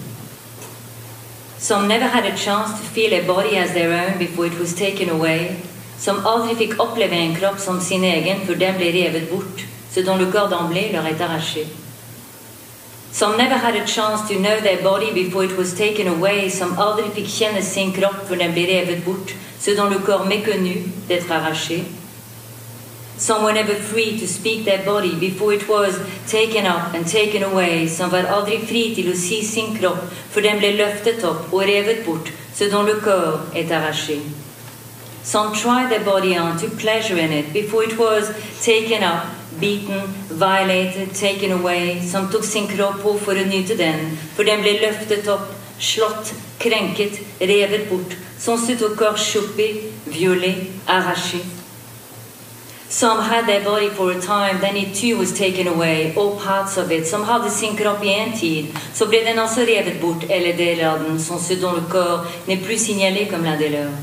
Some never had a chance to feel a body as their own before it was taken away. Som aldrig fick uppleva en kropp som sin egen för den blev revet bort. Ce dont le corps d'emblée leur est arraché. Some never had a chance to know their body before it was taken away. Som aldrig fick känna sin kropp för den blev revet bort. Ce dont le corps méconnu d'être arraché. Some were never free to speak their body before it was taken up and taken away. Some var aldrig fri till att se sin kropp för den blev löftet upp och revet bort, ce dont le corps est arraché. Some tried their body on to pleasure in it before it was taken up, beaten, violated, taken away. Som tog sin kropp på för att njuta den, för den blev löftet upp, slått, kränket, revet bort. Som stod au corps chopé, violé, arraché. Some had their body for a time, then it too was taken away, all parts of it. Some hadde sin kropp i en tid, så ble den også revet bort, eller deler av den, som ceux dont le corps n'est plus signalé comme l'un des leurs.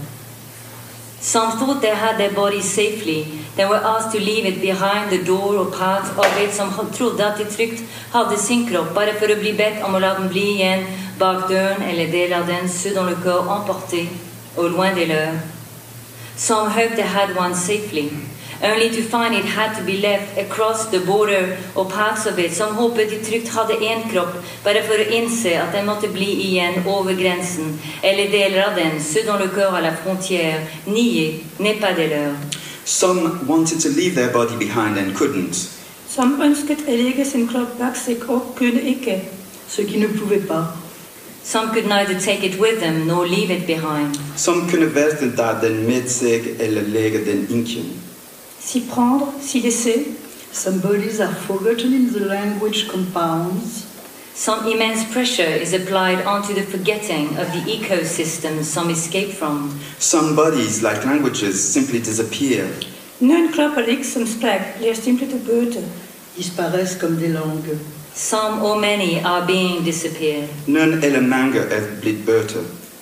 Some thought they had their bodies safely, then were asked to leave it behind the door or parts of it som trodde at de trygt hadde sin kropp, bare for å bli bedt om å la den bli igjen bak døren, eller deler av den, ceux dont le corps emporté, au loin des leurs. Some hoped they had one safely, only to find it had to be left across the border or parts of it. Som håpet de trygt hadde en kropp, bare for å innse at den måtte bli igjen over grensen, eller deler av den, ceux dont le corps à la frontière, nié, n'est pas des leurs. Some wanted to leave their body behind and couldn't. Som ønsket å legge sin kropp bak seg og kunne ikke, ceux qui ne pouvaient pas. Some could neither take it with them nor leave it behind. Some kunne verken ta den med seg eller legge den ikke. S'y prendre, s'y laisser. Some bodies are forgotten in the language compounds. Some immense pressure is applied onto the forgetting of the ecosystems some escape from. Some bodies, like languages, simply disappear. Noen kropper liksom sprekk blir simpelt bøte. Disparaissent comme des langues. Some or many are being disappeared. Noen eller mange er blitt bøte.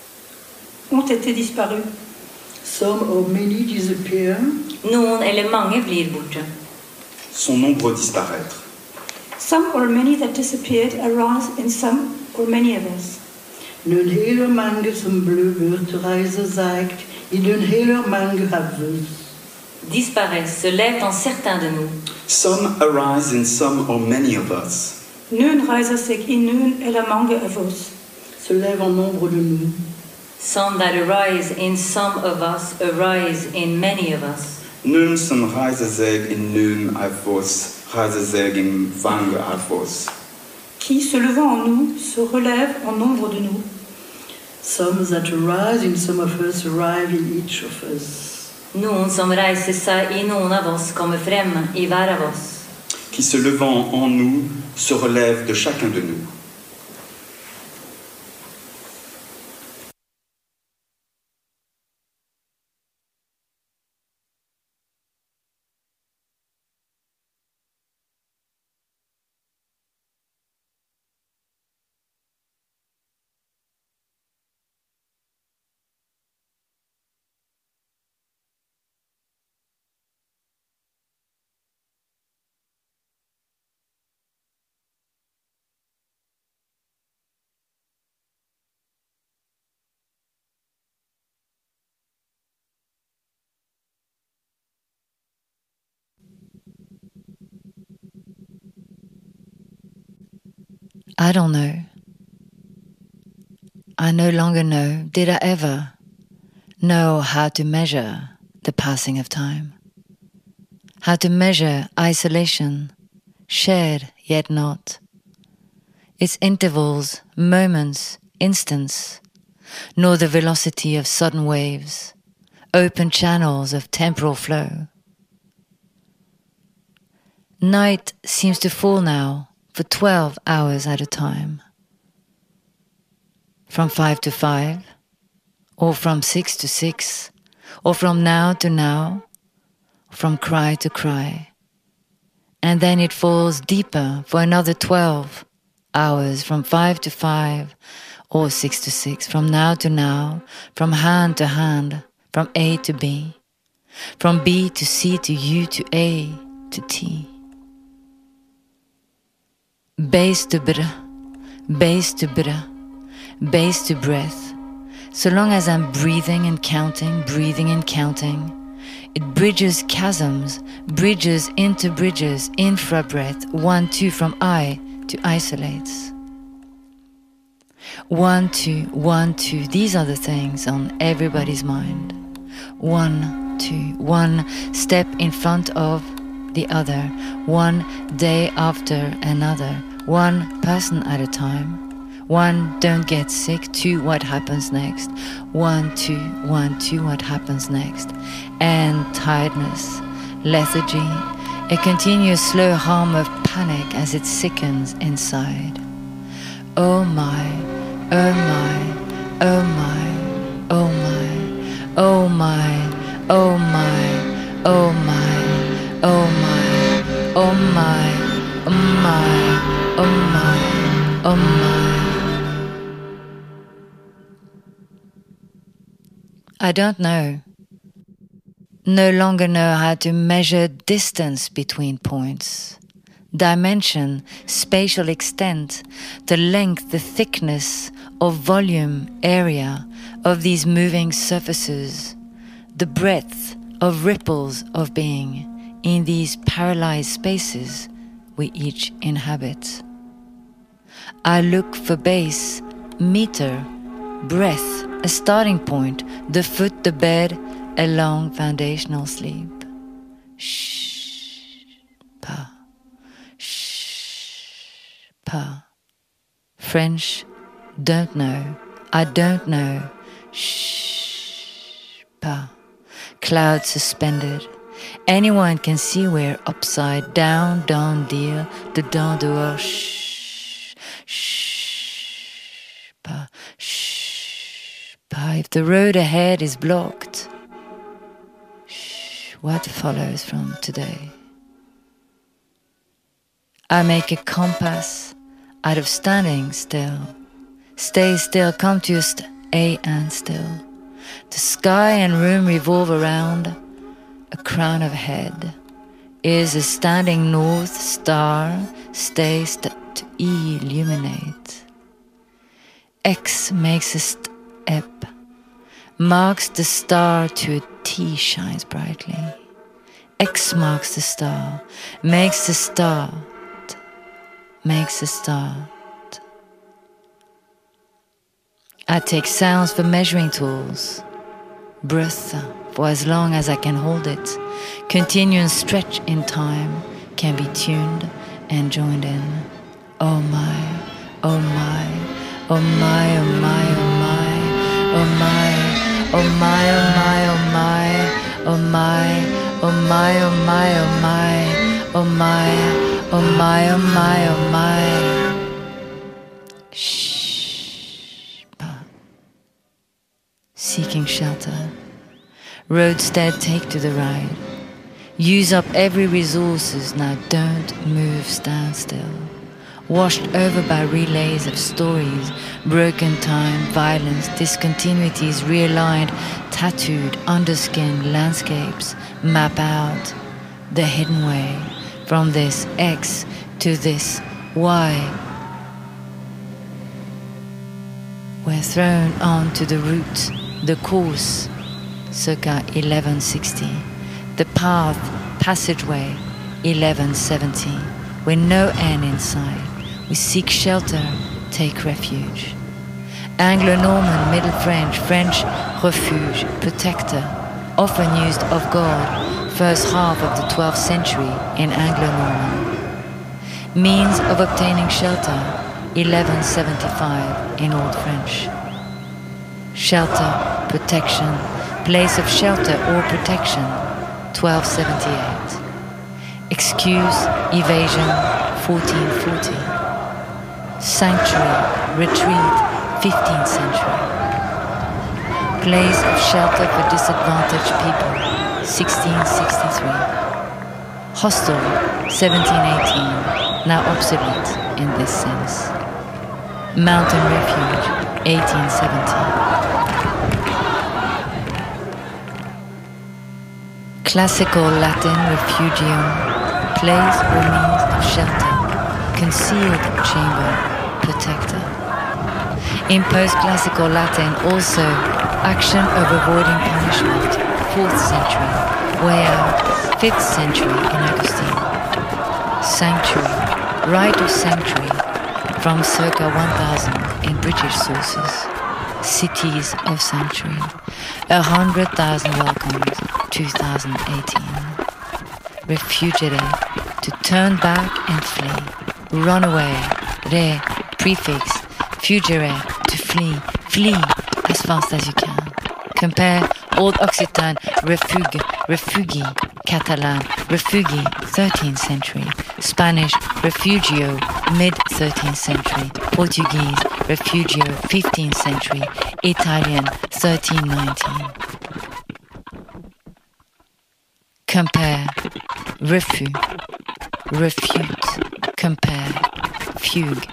Ont été disparus. Some or many disappear. Noen eller mange blir borte. Sont nombreux disparaître. Some or many that disappeared arise in some or many of us. Noen hele mange som ble borte reiser seg i den hele mange av oss. Disparaissent, se lèvent en certains de nous. Some arise in some or many of us. Noen reiser seg i noen eller mange av oss. Se lèvent en nombre de nous. Some that arise in some of us arise in many of us. Noen som reiser seg i noen av oss, reiser seg i mange av oss. Qui, se levant en nous, se relève en nombre de nous. Some that arise in some of us arrive in each of us. Noen som reiser seg i noen av oss kommer frem i hver av oss. Qui, se levant en nous, se relève de chacun de nous. I don't know. I no longer know, did I ever know how to measure the passing of time? How to measure isolation, shared yet not. Its intervals, moments, instants, nor the velocity of sudden waves, open channels of temporal flow. Night seems to fall now, for twelve hours at a time. From five to five, or from six to six, or from now to now, from cry to cry. And then it falls deeper for another twelve hours, from five to five, or six to six, from now to now, from hand to hand, from A to B, from B to C to U to A to T. Base to br, base to br, base to breath. So long as I'm breathing and counting, breathing and counting, it bridges chasms, bridges into bridges, infra-breath, one, two, from I to isolates. One, two, one, two, these are the things on everybody's mind. One, two, one step in front of the other, one day after another, one person at a time. One, don't get sick, two, what happens next? One, two, one, two, what happens next? And tiredness, lethargy, a continuous slow hum of panic as it sickens inside. Oh my, oh my, oh my, oh my, oh my, oh my, oh my, Oh my, oh my, oh my, oh my, oh my. I don't know. No longer know how to measure distance between points. Dimension, spatial extent, the length, the thickness of volume, area of these moving surfaces, the breadth of ripples of being in these paralyzed spaces we each inhabit. I look for base, meter, breath, a starting point, the foot, the bed, a long foundational sleep. Shh, pa. Pa. French, don't know. I don't know. Shh. Pa. Cloud suspended. Anyone can see we're upside down, down dear, the down dehors. Shh. Shh. Pa. Shh. Pa. If the road ahead is blocked, shh. What follows from today? I make a compass out of standing still. Stay still, come to a st- a and still. The sky and room revolve around a crown of head. Is a standing north star, stay st- to illuminate. X makes a step, marks the star to a T shines brightly. X marks the star, makes the star makes a start. I take sounds for measuring tools. Breath for as long as I can hold it. Continuous stretch in time can be tuned and joined in. Oh my, oh my, oh my, oh my, oh my, oh my, oh my, oh my, oh my, oh my, oh my, oh my, oh my, oh my. Oh my, oh my, oh my. Shh. Seeking shelter. Roadstead, take to the ride. Use up every resources, now don't move, stand still. Washed over by relays of stories, broken time, violence, discontinuities, realigned, tattooed, underskin, landscapes, map out the hidden way. From this X to this Y, we're thrown onto the route, the course, circa eleven sixty, the path, passageway, eleven seventy, with no end in sight. We seek shelter, take refuge. Anglo-Norman, Middle French, French, refuge, protector, often used of God, first half of the twelfth century in Anglo-Norman. Means of obtaining shelter, eleven seventy-five in Old French. Shelter, protection, place of shelter or protection, twelve seventy-eight. Excuse, evasion, fourteen forty. Sanctuary, retreat, fifteenth century. Place of shelter for disadvantaged people, sixteen sixty-three. Hostel, seventeen eighteen, now obsolete in this sense. Mountain refuge, eighteen seventy. Classical Latin refugium, place or means of shelter, concealed chamber, protector. In post-classical Latin also, action of avoiding punishment, fourth century, way out, fifth century in Augustine. Sanctuary, right of sanctuary, from circa one thousand in British sources. Cities of sanctuary, a hundred thousand welcomes, two thousand eighteen. Refugiate, to turn back and flee. Run away, re, prefix, fugere, to flee, flee as fast as you can. Compare Old Occitan, refuge, refugi, Catalan, refugi, thirteenth century, Spanish, refugio, mid-thirteenth century, Portuguese, refugio, fifteenth century, Italian, thirteen nineteen. compare, refute, refute, compare, fugue.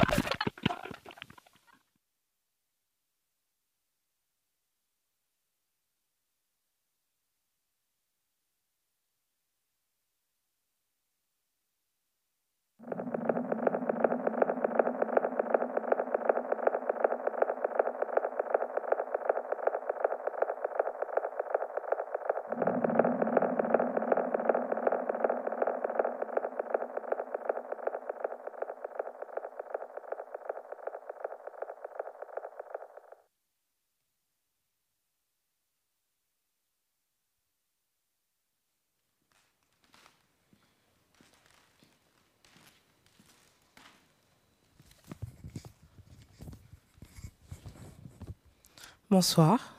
Bonsoir.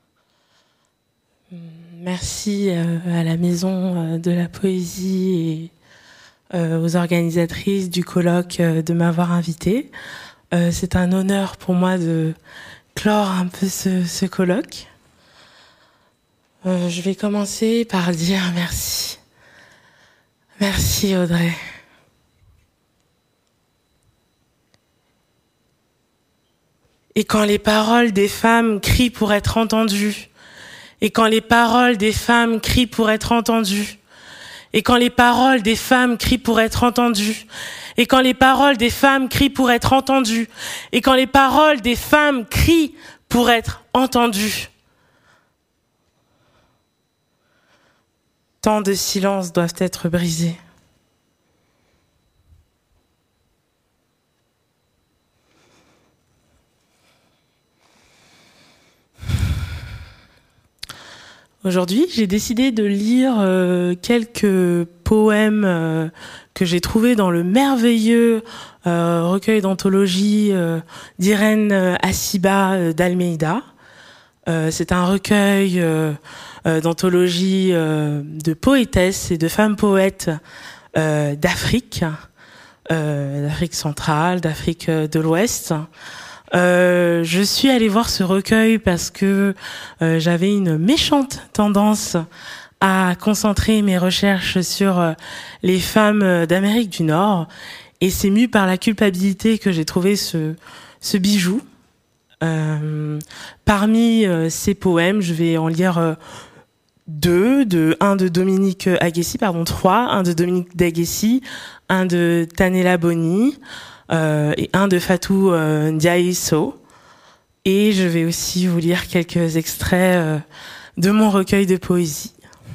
Merci à la Maison de la Poésie et aux organisatrices du colloque de m'avoir invitée. C'est un honneur pour moi de clore un peu ce, ce colloque. Je vais commencer par dire merci. Merci Audrey. Et quand les paroles des femmes crient pour être entendues, et quand les paroles des femmes crient pour être entendues, et quand les paroles des femmes crient pour être entendues, et quand les paroles des femmes crient pour être entendues, et quand les paroles des femmes crient pour être entendues, tant de silences doivent être brisés. Aujourd'hui, j'ai décidé de lire euh, quelques poèmes euh, que j'ai trouvés dans le merveilleux euh, recueil d'anthologie euh, d'Irène Assiba euh, d'Almeida. Euh, c'est un recueil euh, euh, d'anthologie euh, de poétesses et de femmes poètes euh, d'Afrique, euh, d'Afrique centrale, d'Afrique de l'Ouest. Euh, je suis allée voir ce recueil parce que euh, j'avais une méchante tendance à concentrer mes recherches sur euh, les femmes d'Amérique du Nord, et c'est mu par la culpabilité que j'ai trouvé ce, ce bijou. Euh, parmi euh, ces poèmes, je vais en lire euh, deux, de, un de Dominique Aguessi, pardon, trois, un de Dominique d'Aguessi, un de Tanela Boni, Euh, et un de Fatou euh, Ndiaye Sow. Et je vais aussi vous lire quelques extraits euh, de mon recueil de poésie.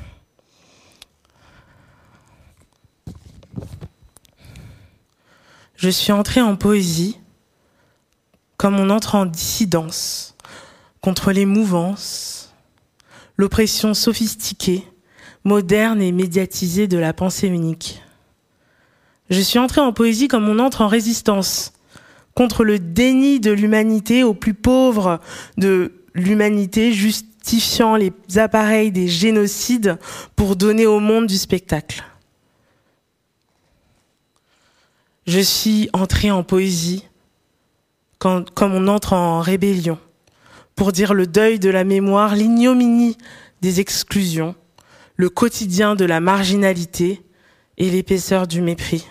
Je suis entrée en poésie comme on entre en dissidence contre les mouvances, l'oppression sophistiquée, moderne et médiatisée de la pensée unique. Je suis entrée en poésie comme on entre en résistance contre le déni de l'humanité aux plus pauvres de l'humanité, justifiant les appareils des génocides pour donner au monde du spectacle. Je suis entrée en poésie quand, comme on entre en rébellion pour dire le deuil de la mémoire, l'ignominie des exclusions, le quotidien de la marginalité et l'épaisseur du mépris.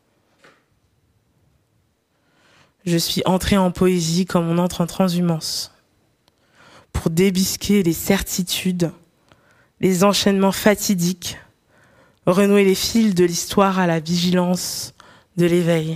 Je suis entrée en poésie comme on entre en transhumance, pour débusquer les certitudes, les enchaînements fatidiques, renouer les fils de l'histoire à la vigilance de l'éveil.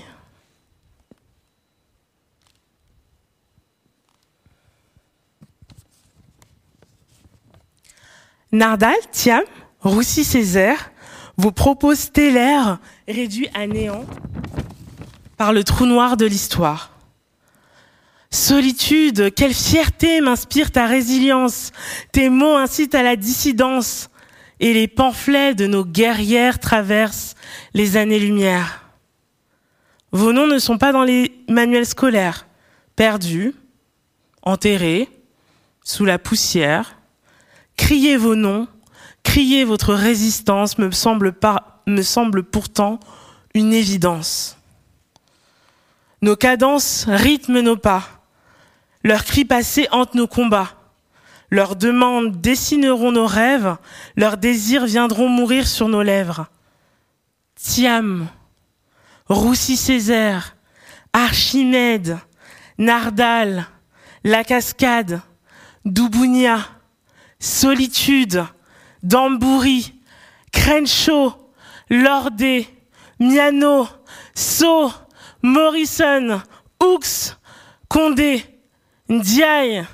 Nardal, Thiam, Roussy-Césaire, vos propos stellaires réduits à néant par le trou noir de l'histoire. Solitude, quelle fierté m'inspire ta résilience. Tes mots incitent à la dissidence et les pamphlets de nos guerrières traversent les années-lumière. Vos noms ne sont pas dans les manuels scolaires, perdus, enterrés, sous la poussière. Crier vos noms, crier votre résistance me semble, pas, me semble pourtant une évidence. Nos cadences rythment nos pas. Leurs cris passés hantent nos combats. Leurs demandes dessineront nos rêves, leurs désirs viendront mourir sur nos lèvres. Thiam, Roussy-Césaire, Archimède, Nardal, La Cascade, Doubounia, Solitude, Dambouri, Crenshaw, Lordé, Miano, So, Morrison, Hooks, Condé, Ndiaye.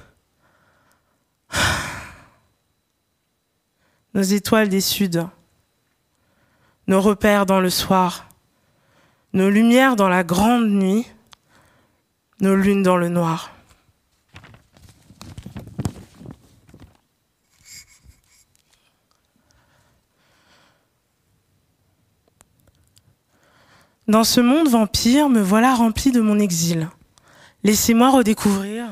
Nos étoiles des Suds, nos repères dans le soir, nos lumières dans la grande nuit, nos lunes dans le noir. Dans ce monde vampire, me voilà rempli de mon exil. Laissez-moi redécouvrir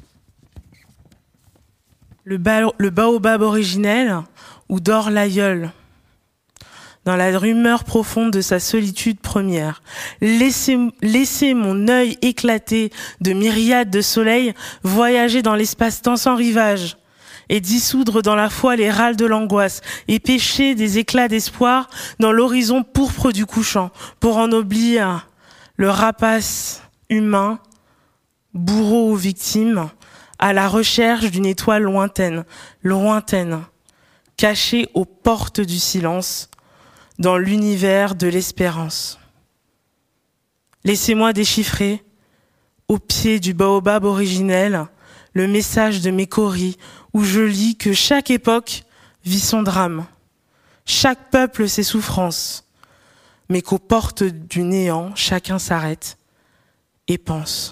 le, ba- le baobab originel où dort l'aïeul. Dans la rumeur profonde de sa solitude première, laissez, laissez mon œil éclaté de myriades de soleils voyager dans l'espace-temps sans rivage et dissoudre dans la foi les râles de l'angoisse et pêcher des éclats d'espoir dans l'horizon pourpre du couchant pour ennoblir le rapace humain, bourreau ou victime, à la recherche d'une étoile lointaine, lointaine, cachée aux portes du silence, dans l'univers de l'espérance. Laissez-moi déchiffrer, au pied du baobab originel, le message de mes coris, où je lis que chaque époque vit son drame, chaque peuple ses souffrances, mais qu'aux portes du néant, chacun s'arrête et pense.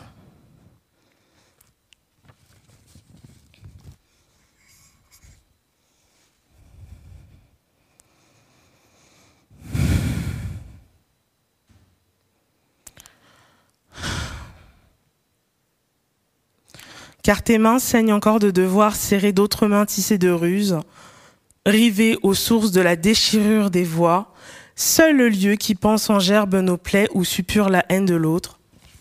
Car tes mains saignent encore de devoir serrer d'autres mains tissées de ruses, rivées aux sources de la déchirure des voix, seul le lieu qui pense en gerbe nos plaies ou suppure la haine de l'autre.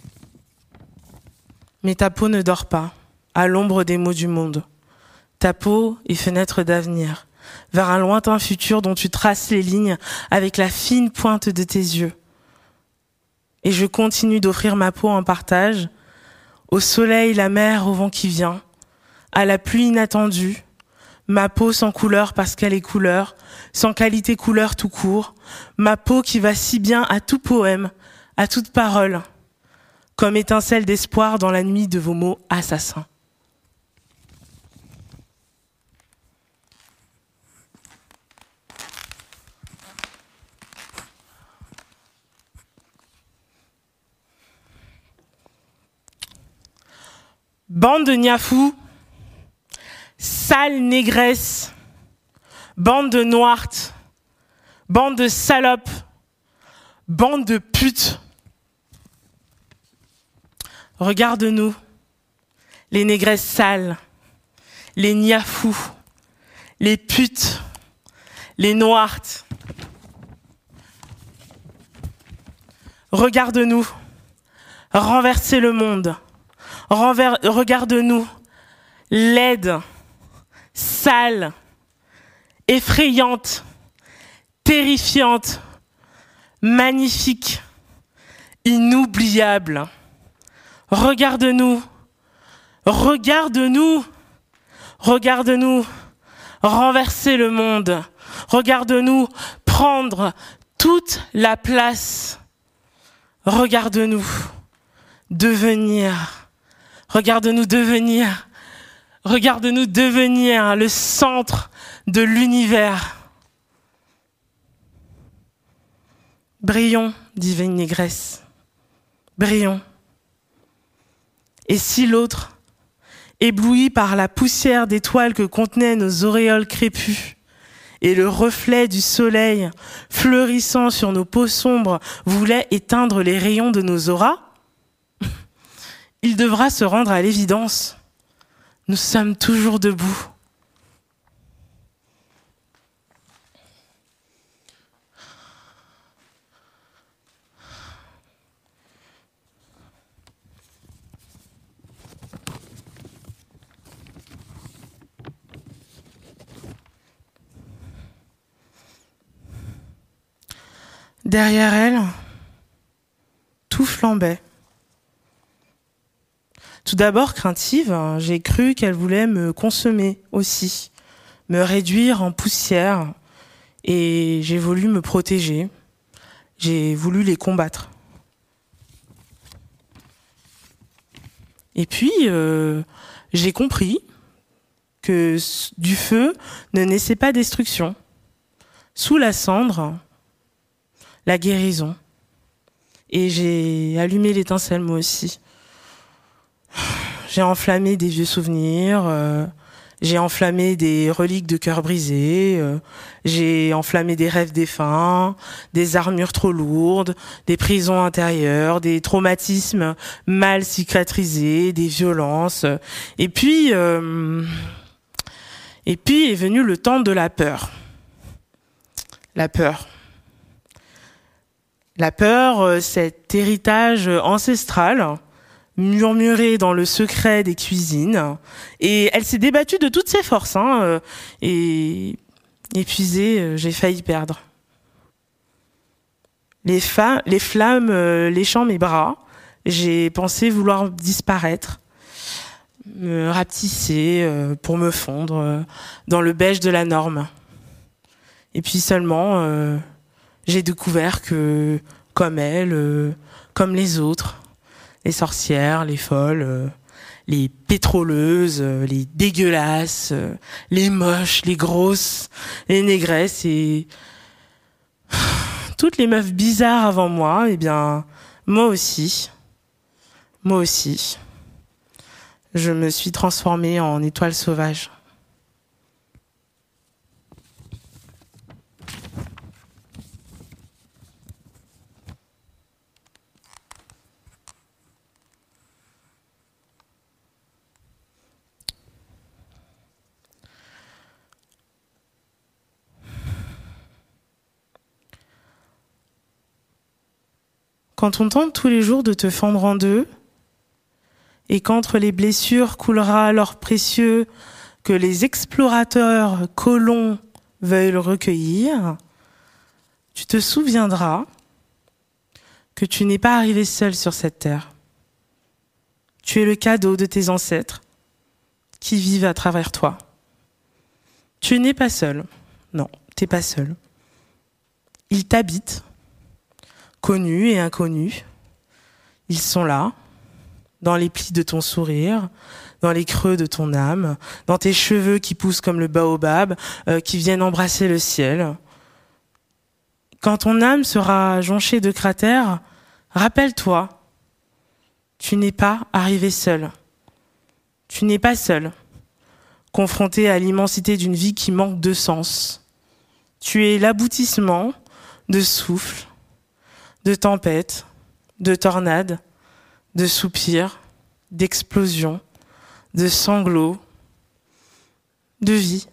Mais ta peau ne dort pas, à l'ombre des maux du monde. Ta peau est fenêtre d'avenir, vers un lointain futur dont tu traces les lignes avec la fine pointe de tes yeux. Et je continue d'offrir ma peau en partage, au soleil, la mer, au vent qui vient, à la pluie inattendue, ma peau sans couleur parce qu'elle est couleur, sans qualité couleur tout court, ma peau qui va si bien à tout poème, à toute parole, comme étincelle d'espoir dans la nuit de vos mots assassins. Bande de niafous, sale négresse, bande de noirtes, bande de salopes, bande de putes. Regarde-nous, les négresses sales, les niafous, les putes, les noirtes. Regarde-nous, renverser le monde. Renver- Regarde-nous, laide, sale, effrayante, terrifiante, magnifique, inoubliable. Regarde-nous, regarde-nous, regarde-nous, renverser le monde. Regarde-nous prendre toute la place. Regarde-nous devenir. Regarde-nous devenir, regarde-nous devenir le centre de l'univers. Brillons, dit une négresse, brillons. Et si l'autre, ébloui par la poussière d'étoiles que contenaient nos auréoles crépues, et le reflet du soleil fleurissant sur nos peaux sombres voulait éteindre les rayons de nos auras, il devra se rendre à l'évidence. Nous sommes toujours debout. derrière elle, tout flambait. Tout d'abord craintive, j'ai cru qu'elle voulait me consommer aussi, me réduire en poussière, et j'ai voulu me protéger. J'ai voulu les combattre. Et puis, euh, j'ai compris que du feu ne naissait pas destruction. Sous la cendre, la guérison. Et j'ai allumé l'étincelle moi aussi. J'ai enflammé des vieux souvenirs, euh, j'ai enflammé des reliques de cœur brisés, euh, j'ai enflammé des rêves défunts, des armures trop lourdes, des prisons intérieures, des traumatismes mal cicatrisés, des violences. Et puis, euh, et puis est venu le temps de la peur. La peur. La peur, cet héritage ancestral, murmuré dans le secret des cuisines, et elle s'est débattue de toutes ses forces, hein, et épuisée, j'ai failli perdre. Les, fa- les flammes léchant mes bras, j'ai pensé vouloir disparaître, me rapetisser euh, pour me fondre euh, dans le beige de la norme. Et puis seulement, euh, j'ai découvert que, comme elle, euh, comme les autres, les sorcières, les folles, euh, les pétroleuses, euh, les dégueulasses, euh, les moches, les grosses, les négresses et toutes les meufs bizarres avant moi, eh bien, moi aussi, moi aussi, je me suis transformée en étoile sauvage. Quand on tente tous les jours de te fendre en deux, et qu'entre les blessures coulera l'or précieux que les explorateurs colons veulent recueillir, tu te souviendras que tu n'es pas arrivé seul sur cette terre. Tu es le cadeau de tes ancêtres qui vivent à travers toi. Tu n'es pas seul. Non, t'es pas seul. Ils t'habitent. Connus et inconnus, ils sont là, dans les plis de ton sourire, dans les creux de ton âme, dans tes cheveux qui poussent comme le baobab, euh, qui viennent embrasser le ciel. Quand ton âme sera jonchée de cratères, rappelle-toi, tu n'es pas arrivé seul. Tu n'es pas seul, confronté à l'immensité d'une vie qui manque de sens. Tu es l'aboutissement de souffle, de tempêtes, de tornades, de soupirs, d'explosions, de sanglots, de vie.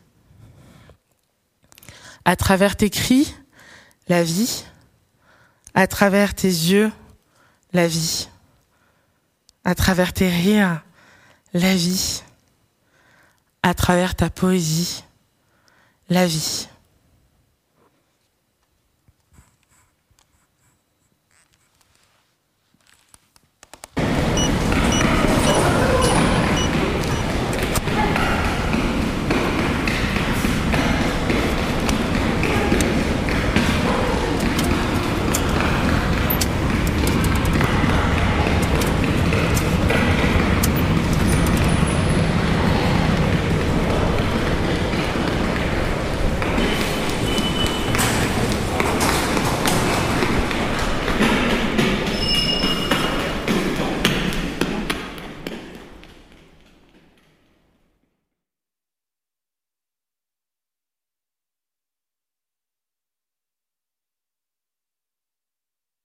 À travers tes cris, la vie. À travers tes yeux, la vie. À travers tes rires, la vie. À travers ta poésie, la vie.